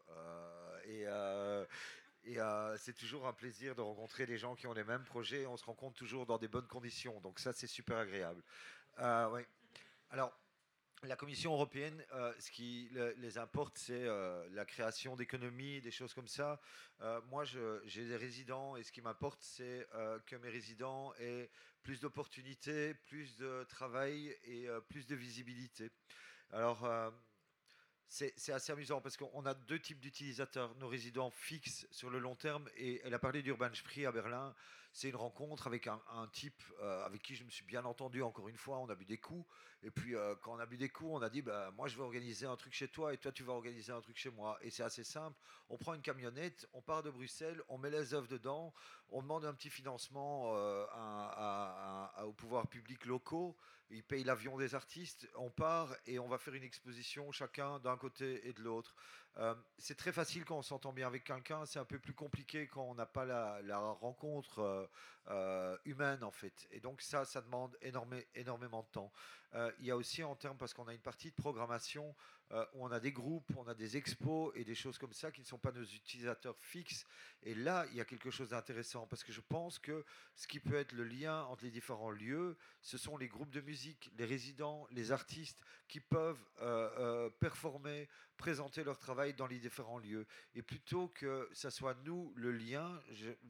c'est toujours un plaisir de rencontrer des gens qui ont les mêmes projets et on se rencontre toujours dans des bonnes conditions. Donc ça, c'est super agréable. Ouais. Alors, la Commission européenne, ce qui les importe, c'est la création d'économies, des choses comme ça. Moi, j'ai des résidents et ce qui m'importe, c'est que mes résidents aient plus d'opportunités, plus de travail et plus de visibilité. Alors, c'est assez amusant parce qu'on a deux types d'utilisateurs. Nos résidents fixes sur le long terme, et elle a parlé d'Urban Spree à Berlin. C'est une rencontre avec un type avec qui je me suis bien entendu. Encore une fois, on a bu des coups. Et puis, quand on a bu des coups, on a dit bah, moi, je vais organiser un truc chez toi et toi, tu vas organiser un truc chez moi. Et c'est assez simple. On prend une camionnette, on part de Bruxelles, on met les œuvres dedans, on demande un petit financement aux pouvoirs publics locaux. Ils payent l'avion des artistes, on part et on va faire une exposition chacun d'un côté et de l'autre. C'est très facile quand on s'entend bien avec quelqu'un, c'est un peu plus compliqué quand on n'a pas la rencontre humaine en fait. Et donc ça demande énormément de temps. Il y a aussi en termes, parce qu'on a une partie de programmation où on a des groupes, on a des expos et des choses comme ça qui ne sont pas nos utilisateurs fixes. Et là, il y a quelque chose d'intéressant parce que je pense que ce qui peut être le lien entre les différents lieux, ce sont les groupes de musique, les résidents, les artistes qui peuvent performer, présenter leur travail dans les différents lieux. Et plutôt que ça soit nous le lien,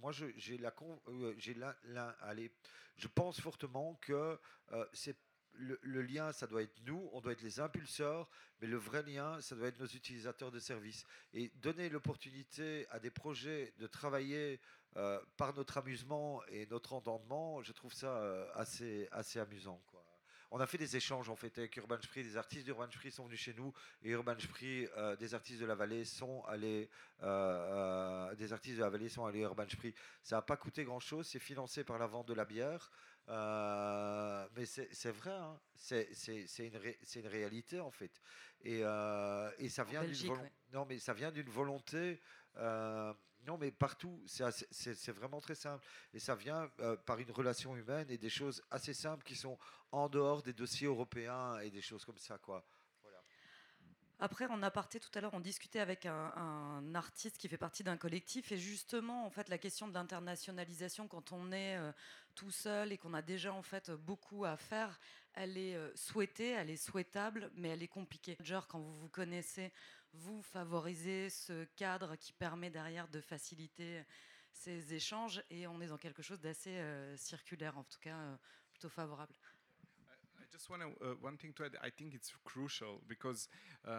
je pense fortement que c'est le lien, ça doit être nous, on doit être les impulseurs, mais le vrai lien, ça doit être nos utilisateurs de services. Et donner l'opportunité à des projets de travailler par notre amusement et notre entendement, je trouve ça assez amusant, quoi. On a fait des échanges en fait avec Urban Spree, des artistes d'Urban Spree sont venus chez nous et Urban Spree, des artistes de la vallée sont allés à Urban Spree. Ça n'a pas coûté grand chose, c'est financé par la vente de la bière. Mais c'est vrai, hein. C'est une réalité en fait. Et ça vient ça vient d'une volonté. Non, mais partout, c'est vraiment très simple. Et ça vient par une relation humaine et des choses assez simples qui sont en dehors des dossiers européens et des choses comme ça, quoi. Voilà. Après, en aparté, tout à l'heure, on discutait avec un artiste qui fait partie d'un collectif. Et justement, en fait, la question de l'internationalisation, quand on est tout seul et qu'on a déjà en fait beaucoup à faire, elle est souhaitée, elle est souhaitable, mais elle est compliquée. Quand vous vous connaissez, vous favorisez ce cadre qui permet derrière de faciliter ces échanges. Et on est dans quelque chose d'assez circulaire, en tout cas plutôt favorable. Just one thing to add. I think it's crucial because,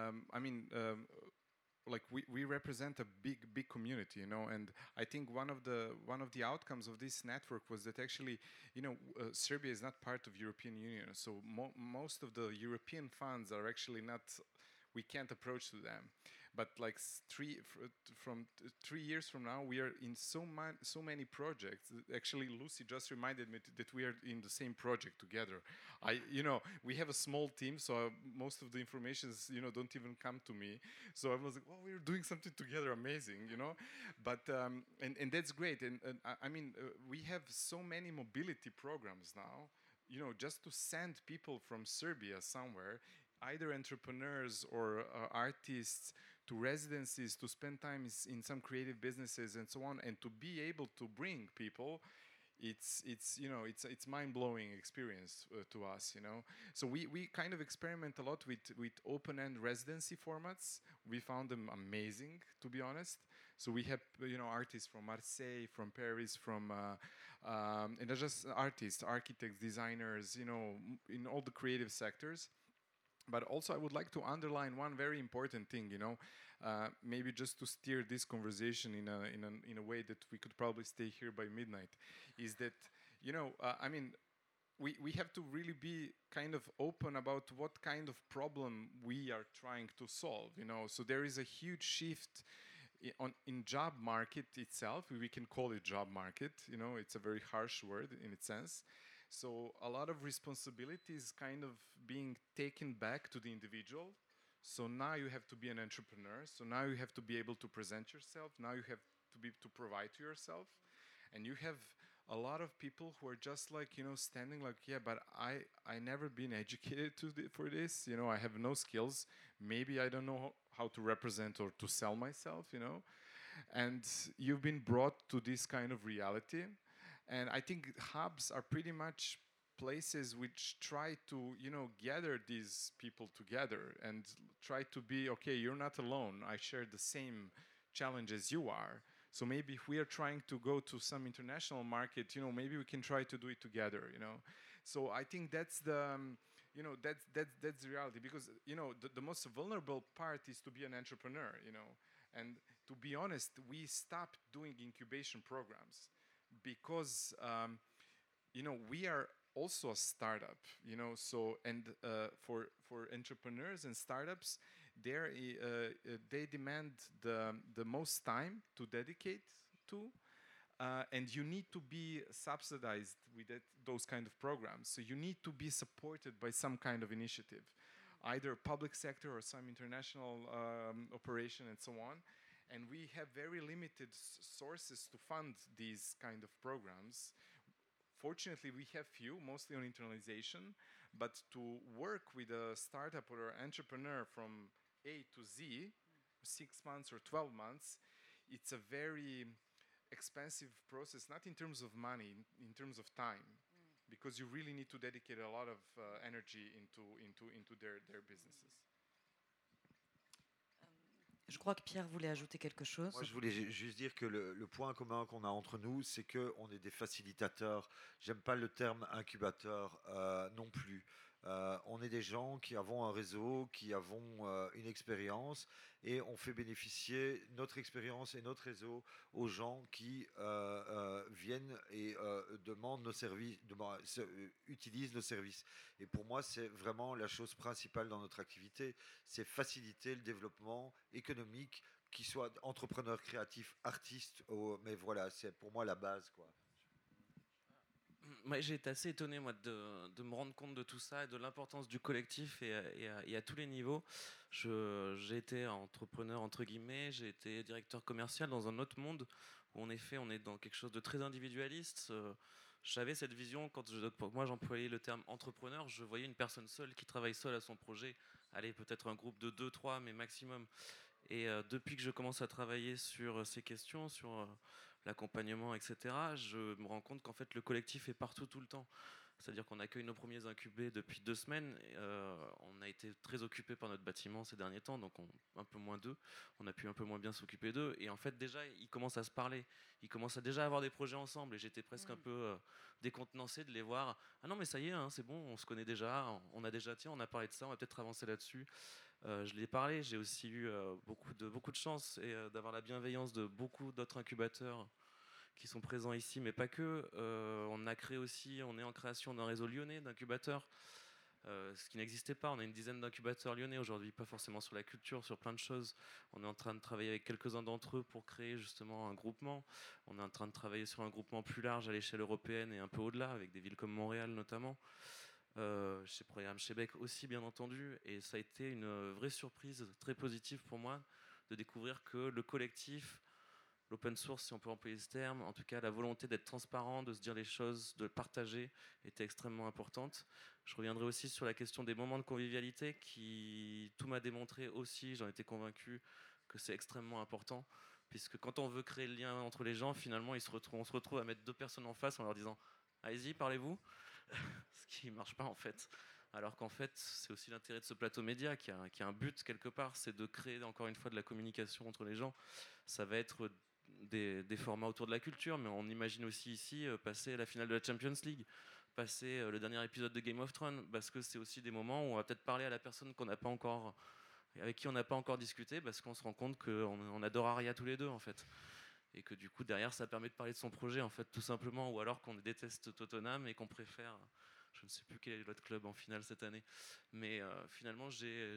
like we represent a big community, you know, and I think one of the outcomes of this network was that actually, you know, Serbia is not part of European Union, so most of the European funds are actually not. We can't approach to them. But like 3 years from now, we are in so many projects. Actually, Lucy just reminded me that we are in the same project together. We have a small team, so most of the information, don't even come to me. So I was like, well, we're doing something together, amazing, you know. But and that's great. And we have so many mobility programs now. You know, just to send people from Serbia somewhere, either entrepreneurs or artists, to residencies, to spend time in some creative businesses and so on, and to be able to bring people, it's mind-blowing experience to us, you know. So we kind of experiment a lot with open-end residency formats. We found them amazing, to be honest. So we have artists from Marseille, from Paris, from and they're just artists, architects, designers, in all the creative sectors. But also, I would like to underline one very important thing, maybe just to steer this conversation in a way that we could probably stay here by midnight, is that, we have to really be kind of open about what kind of problem we are trying to solve, you know. So there is a huge shift in job market itself. We can call it job market, you know, it's a very harsh word in its sense. So a lot of responsibility is kind of being taken back to the individual. So now you have to be an entrepreneur. So now you have to be able to present yourself. Now you have to provide to yourself. And you have a lot of people who are just like, you know, standing like, yeah, but I never been educated for this. You know, I have no skills. Maybe I don't know how to represent or to sell myself, you know. And you've been brought to this kind of reality. And I think hubs are pretty much places which try to, you know, gather these people together and try to be, okay, you're not alone. I share the same challenges you are. So maybe if we are trying to go to some international market, you know, maybe we can try to do it together, you know. So I think that's the, you know, that's the reality, because, you know, the most vulnerable part is to be an entrepreneur, you know. And to be honest, we stopped doing incubation programs because, you know, we are also a startup, you know. So, and for entrepreneurs and startups, they demand the most time to dedicate to, and you need to be subsidized with those kind of programs. So you need to be supported by some kind of initiative, either public sector or some international operation and so on. And we have very limited sources to fund these kind of programs. Fortunately, we have few, mostly on internalization, but to work with a startup or an entrepreneur from A to Z, 6 months or 12 months, it's a very expensive process, not in terms of money, in terms of time, because you really need to dedicate a lot of energy into their businesses. Je crois que Pierre voulait ajouter quelque chose. Moi, je voulais juste dire que le point commun qu'on a entre nous, c'est qu'on est des facilitateurs. J'aime pas le terme incubateur non plus. On est des gens qui avons un réseau, qui avons une expérience, et on fait bénéficier notre expérience et notre réseau aux gens qui viennent et demandent nos services, utilisent nos services. Et pour moi, c'est vraiment la chose principale dans notre activité, c'est faciliter le développement économique, qu'ils soient entrepreneurs créatifs, artistes, mais voilà, c'est pour moi la base, quoi. J'ai été assez étonné, moi, de me rendre compte de tout ça et de l'importance du collectif et à tous les niveaux. J'ai été entrepreneur, entre guillemets, j'ai été directeur commercial dans un autre monde où, en effet, on est dans quelque chose de très individualiste. J'avais cette vision, quand moi j'employais le terme entrepreneur, je voyais une personne seule qui travaille seule à son projet. Allez, peut-être un groupe de 2, 3, mais maximum. Et depuis que je commence à travailler sur ces questions, sur l'accompagnement, etc., je me rends compte qu'en fait le collectif est partout tout le temps. C'est-à-dire qu'on accueille nos premiers incubés depuis 2 semaines. On a été très occupés par notre bâtiment ces derniers temps, donc un peu moins d'eux. On a pu un peu moins bien s'occuper d'eux. Et en fait, déjà, ils commencent à se parler. Ils commencent à déjà avoir des projets ensemble. Et j'étais presque un peu décontenancé de les voir. Ah non, mais ça y est, hein, c'est bon, on se connaît déjà. On a parlé de ça, on va peut-être avancer là-dessus. Je l'ai parlé. J'ai aussi eu beaucoup de chance et d'avoir la bienveillance de beaucoup d'autres incubateurs qui sont présents ici, mais pas que. On est en création d'un réseau lyonnais d'incubateurs, ce qui n'existait pas. On a une dizaine d'incubateurs lyonnais aujourd'hui, pas forcément sur la culture, sur plein de choses. On est en train de travailler avec quelques-uns d'entre eux pour créer justement un groupement. On est en train de travailler sur un groupement plus large à l'échelle européenne et un peu au-delà, avec des villes comme Montréal notamment. Chez Programme Québec aussi, bien entendu. Et ça a été une vraie surprise très positive pour moi de découvrir que le collectif, l'open source, si on peut employer ce terme, en tout cas la volonté d'être transparent, de se dire les choses, de partager, était extrêmement importante. Je reviendrai aussi sur la question des moments de convivialité qui, tout m'a démontré aussi, j'en étais convaincu, que c'est extrêmement important, puisque quand on veut créer le lien entre les gens, finalement on se retrouve à mettre 2 personnes en face en leur disant « Allez-y, parlez-vous », ce qui ne marche pas en fait. Alors qu'en fait, c'est aussi l'intérêt de ce plateau média qui a un but quelque part, c'est de créer encore une fois de la communication entre les gens. Ça va être des formats autour de la culture, mais on imagine aussi ici passer la finale de la Champions League, passer le dernier épisode de Game of Thrones, parce que c'est aussi des moments où on va peut-être parler à la personne avec qui on n'a pas encore discuté, parce qu'on se rend compte qu'on adore Arya tous les deux en fait, et que du coup derrière ça permet de parler de son projet en fait tout simplement, ou alors qu'on déteste Tottenham et qu'on préfère Je ne sais plus quel est votre club en finale cette année. Mais finalement,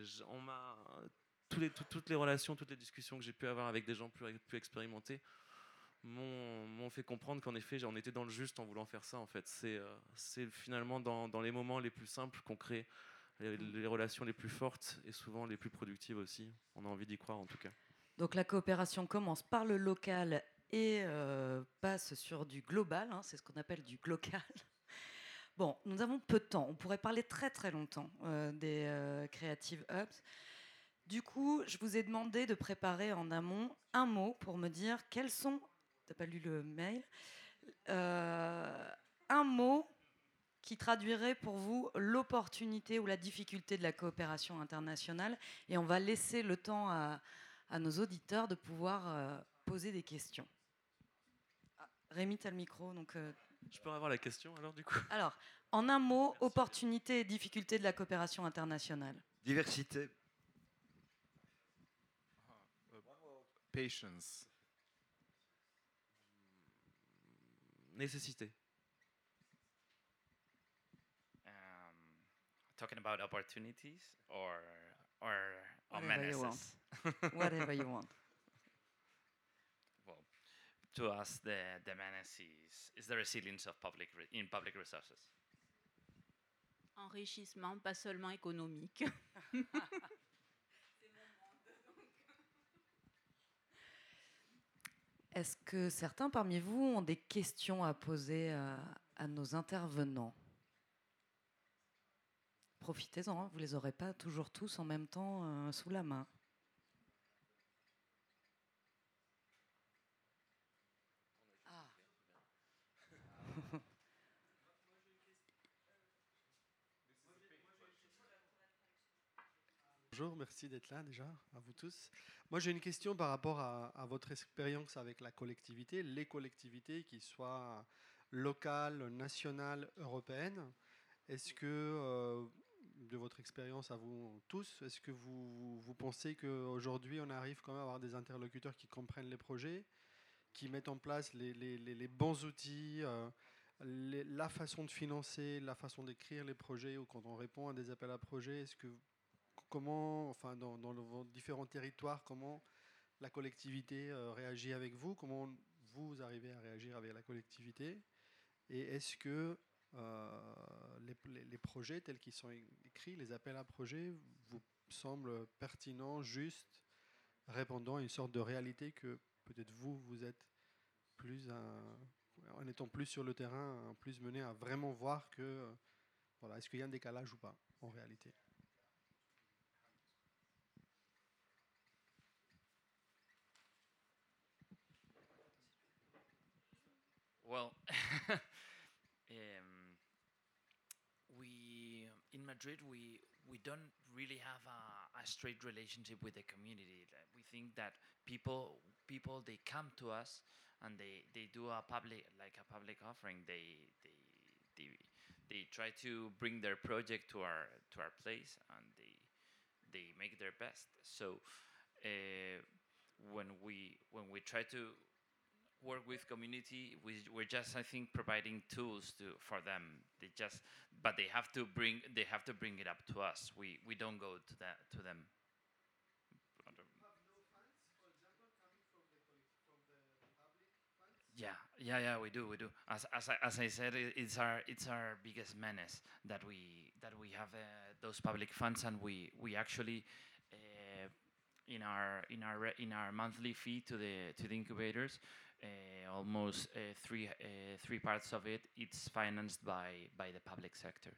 toutes les relations, toutes les discussions que j'ai pu avoir avec des gens plus expérimentés m'ont fait comprendre qu'en effet, on était dans le juste en voulant faire ça. En fait, c'est finalement dans les moments les plus simples qu'on crée les relations les plus fortes et souvent les plus productives aussi. On a envie d'y croire en tout cas. Donc la coopération commence par le local et passe sur du global, hein, c'est ce qu'on appelle du glocal. Bon, nous avons peu de temps, on pourrait parler très très longtemps des Creative Hubs. Du coup, je vous ai demandé de préparer en amont un mot pour me dire quels sont, t'as pas lu le mail, un mot qui traduirait pour vous l'opportunité ou la difficulté de la coopération internationale. Et on va laisser le temps à nos auditeurs de pouvoir poser des questions. Ah, Rémi, tu as le micro. Donc, Je peux avoir la question alors du coup? Alors, en un mot, opportunité et difficulté de la coopération internationale. Diversité. Patience. Nécessité. Talking about opportunities or Whatever you menaces. Whatever you want. Well, to us, the menace is the resilience of public resources. Enrichissement, pas seulement économique. Est-ce que certains parmi vous ont des questions à poser à nos intervenants? Profitez-en, hein, vous ne les aurez pas toujours tous en même temps sous la main. Ah. Bonjour, merci d'être là déjà, à vous tous. Moi j'ai une question par rapport à votre expérience avec la collectivité, les collectivités, qu'ils soient locales, nationales, européennes. Est-ce que, de votre expérience à vous tous, est-ce que vous pensez qu'aujourd'hui on arrive quand même à avoir des interlocuteurs qui comprennent les projets, qui mettent en place les bons outils, la façon de financer, la façon d'écrire les projets, ou quand on répond à des appels à projets, est-ce que comment, enfin, dans vos différents territoires, comment la collectivité réagit avec vous, comment vous arrivez à réagir avec la collectivité, et est-ce que les projets tels qu'ils sont écrits, les appels à projets, vous semblent pertinents, justes, répondant à une sorte de réalité que peut-être vous êtes plus, en étant plus sur le terrain, plus mené à vraiment voir que, voilà, est-ce qu'il y a un décalage ou pas en réalité? Well, we in Madrid we don't really have a straight relationship with the community. We think that people they come to us and they do a public offering. They try to bring their project to our place and they make their best. So when we try to work with community, we're just, I think, providing tools for them. But they have to bring it up to us. We don't go to them. Yeah, we do. As I said, it's our biggest menace that we have those public funds, and we actually in our monthly fee to the incubators, almost three parts of it's financed by the public sector.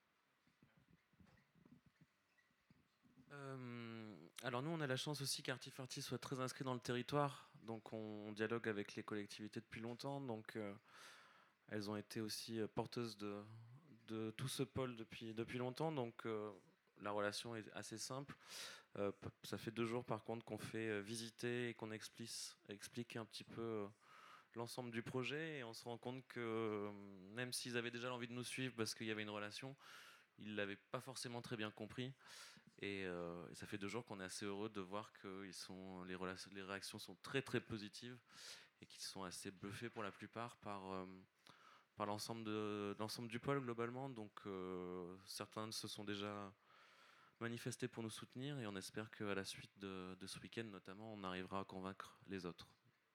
Alors nous, on a la chance aussi qu'Artifarty soit très inscrit dans le territoire, donc on dialogue avec les collectivités depuis longtemps, donc elles ont été aussi porteuses de tout ce pôle depuis longtemps, donc la relation est assez simple. Ça fait 2 jours par contre qu'on fait visiter et qu'on explique un petit peu l'ensemble du projet, et on se rend compte que même s'ils avaient déjà l'envie de nous suivre parce qu'il y avait une relation, ils ne l'avaient pas forcément très bien compris. Et ça fait 2 jours qu'on est assez heureux de voir que les réactions sont très très positives et qu'ils sont assez bluffés pour la plupart par par l'ensemble du pôle globalement. Donc certains se sont déjà manifestés pour nous soutenir et on espère qu'à la suite de ce week-end notamment, on arrivera à convaincre les autres.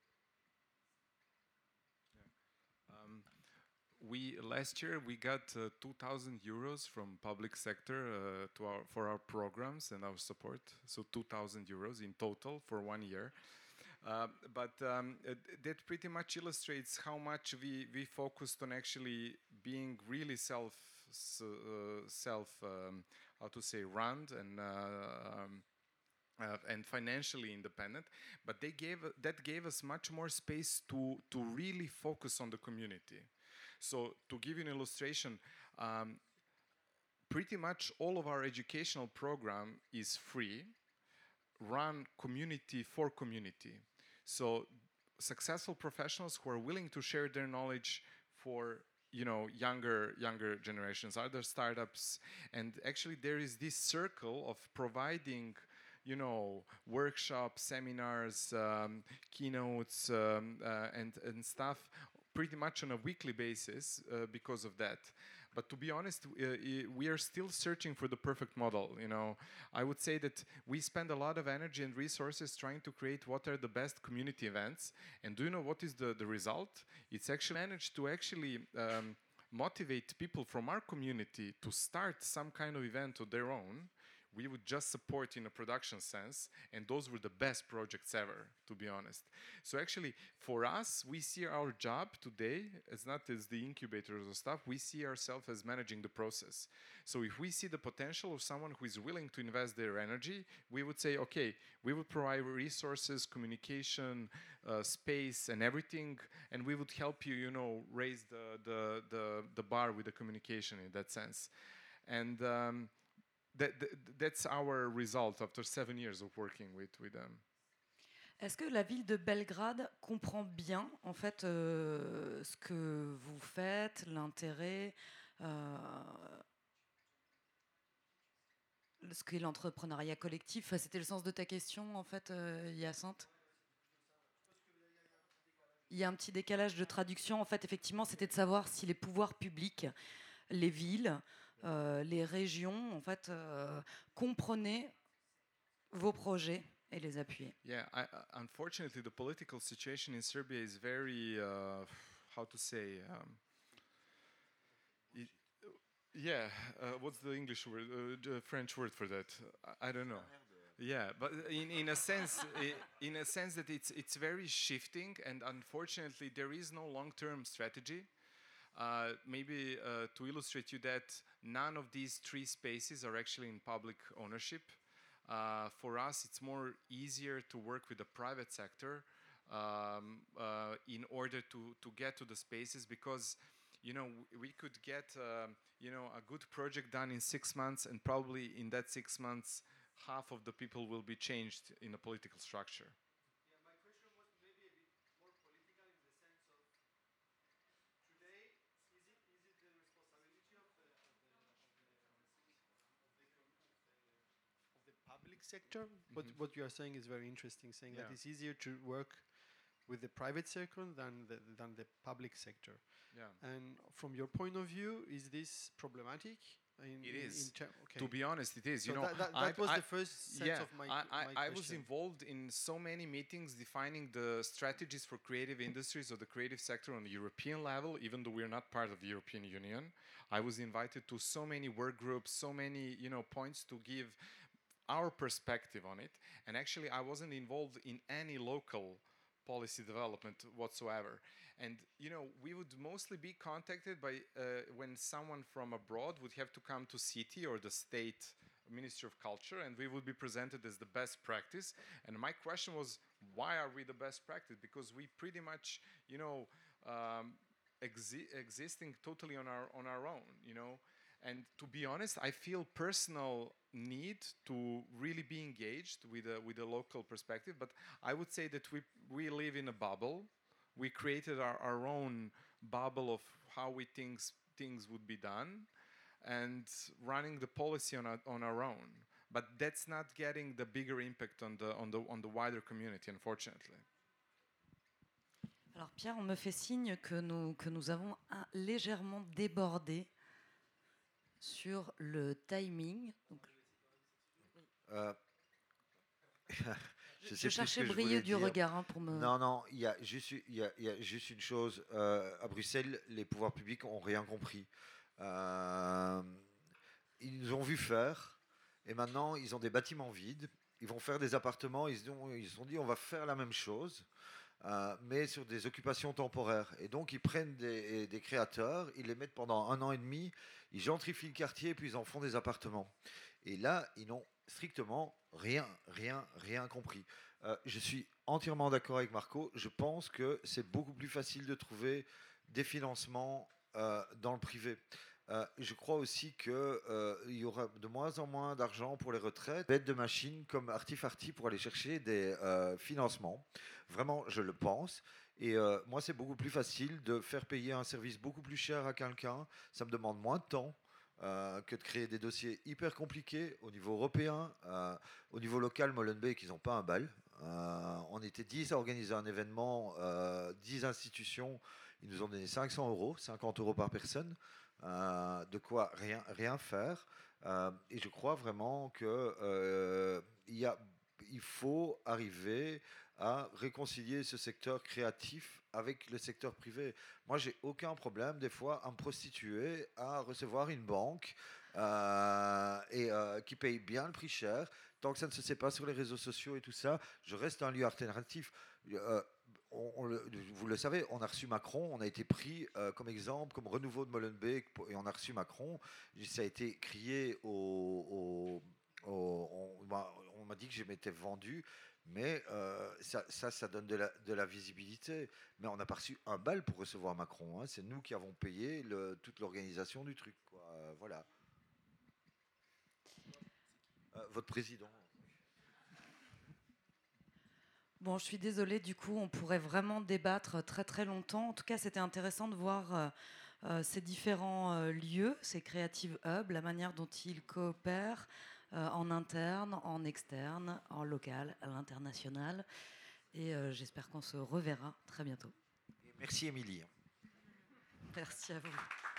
Last year we got 2,000 euros from public sector for our programs and our support. So 2,000 euros in total for 1 year. But that pretty much illustrates how much we focused on actually being really how to say, run and financially independent. But that gave us much more space to really focus on the community. So to give you an illustration, pretty much all of our educational program is free, run community for community. So successful professionals who are willing to share their knowledge for younger generations, other startups, and actually there is this circle of providing workshops, seminars, keynotes, and stuff pretty much on a weekly basis because of that. But to be honest, we are still searching for the perfect model. I would say that we spend a lot of energy and resources trying to create what are the best community events. And do you know what is the result? It's actually managed to motivate people from our community to start some kind of event of their own. We would just support in a production sense, and those were the best projects ever, to be honest. So actually, for us, we see our job today as not as the incubators or stuff, we see ourselves as managing the process. So if we see the potential of someone who is willing to invest their energy, we would say, okay, we would provide resources, communication, space, and everything, and we would help you, raise the bar with the communication in that sense. And that's our result after 7 years of working with them. Est-ce que la ville de Belgrade comprend bien en fait ce que vous faites, l'intérêt, ce qu'est l'entrepreneuriat collectif? C'était le sens de ta question en fait, Hyacinthe. Il y a un petit décalage de traduction. En fait, effectivement, c'était de savoir si les pouvoirs publics, les villes, les régions, en fait, comprenaient vos projets et les appuyer. Yeah, unfortunately, the political situation in Serbia is very, how to say, what's the English word, the French word for that? I don't know. Yeah, but in a sense, that it's very shifting, and unfortunately, there is no long-term strategy. Maybe to illustrate you that none of these 3 spaces are actually in public ownership. For us, it's more easier to work with the private sector in order to get to the spaces because, we could get, a good project done in 6 months, and probably in that 6 months, half of the people will be changed in a political structure. Yeah, my question was maybe a bit more political in the sense of today, is it the responsibility of the public sector? Mm-hmm. What you are saying is very interesting, saying that it's easier to work with the private sector than the public sector. Yeah. And from your point of view, is this problematic? It is. Okay. To be honest, it is. So that was the first sense of my question. I was involved in so many meetings defining the strategies for creative industries or the creative sector on the European level, even though we're not part of the European Union. I was invited to so many work groups, so many points to give our perspective on it. And actually, I wasn't involved in any local policy development whatsoever. And we would mostly be contacted by when someone from abroad would have to come to city or the state Ministry of Culture, and we would be presented as the best practice. And my question was, why are we the best practice? Because we pretty much, existing totally on our own, And to be honest, I feel personal need to really be engaged with a local perspective. But I would say that we live in a bubble. We created our own bubble of how we think things would be done, and running the policy on our own. But that's not getting the bigger impact on the wider community, unfortunately. Alors Pierre, on me fait signe que nous avons légèrement débordé sur le timing. Donc, je cherchais Brieux du regard pour me... Non, il y a juste une chose. À Bruxelles, les pouvoirs publics n'ont rien compris. Ils nous ont vu faire, et maintenant, ils ont des bâtiments vides. Ils vont faire des appartements. Ils se sont dit, on va faire la même chose, mais sur des occupations temporaires. Et donc, ils prennent des créateurs, ils les mettent pendant 1 an et demi, ils gentrifient le quartier, puis ils en font des appartements. Et là, ils n'ont strictement rien compris. Je suis entièrement d'accord avec Marco. Je pense que c'est beaucoup plus facile de trouver des financements dans le privé. Je crois aussi qu'il y aura de moins en moins d'argent pour les retraites, d'aide de machines comme Artifarty pour aller chercher des financements. Vraiment, je le pense. Et moi, c'est beaucoup plus facile de faire payer un service beaucoup plus cher à quelqu'un. Ça me demande moins de temps que de créer des dossiers hyper compliqués au niveau européen. Au niveau local, Molenbeek, ils n'ont pas un bal. On était 10 à organiser un événement, 10 institutions. Ils nous ont donné 500 €, 50 € par personne. De quoi rien faire. Et je crois vraiment que il faut arriver à réconcilier ce secteur créatif avec le secteur privé. Moi, j'ai aucun problème, des fois, à me prostituer, à recevoir une banque qui paye bien le prix cher. Tant que ça ne se sait pas sur les réseaux sociaux et tout ça, je reste un lieu alternatif. Vous le savez, on a reçu Macron, on a été pris comme exemple, comme renouveau de Molenbeek, et on a reçu Macron. Ça a été crié on m'a dit que je m'étais vendu, mais ça donne de la visibilité. Mais on n'a pas reçu un bal pour recevoir Macron. Hein. C'est nous qui avons payé toute l'organisation du truc. Quoi. Voilà. Votre président. Bon, je suis désolée, du coup, on pourrait vraiment débattre très très longtemps. En tout cas, c'était intéressant de voir ces différents lieux, ces Creative Hubs, la manière dont ils coopèrent en interne, en externe, en local, à l'international. Et j'espère qu'on se reverra très bientôt. Merci, Émilie. Merci à vous.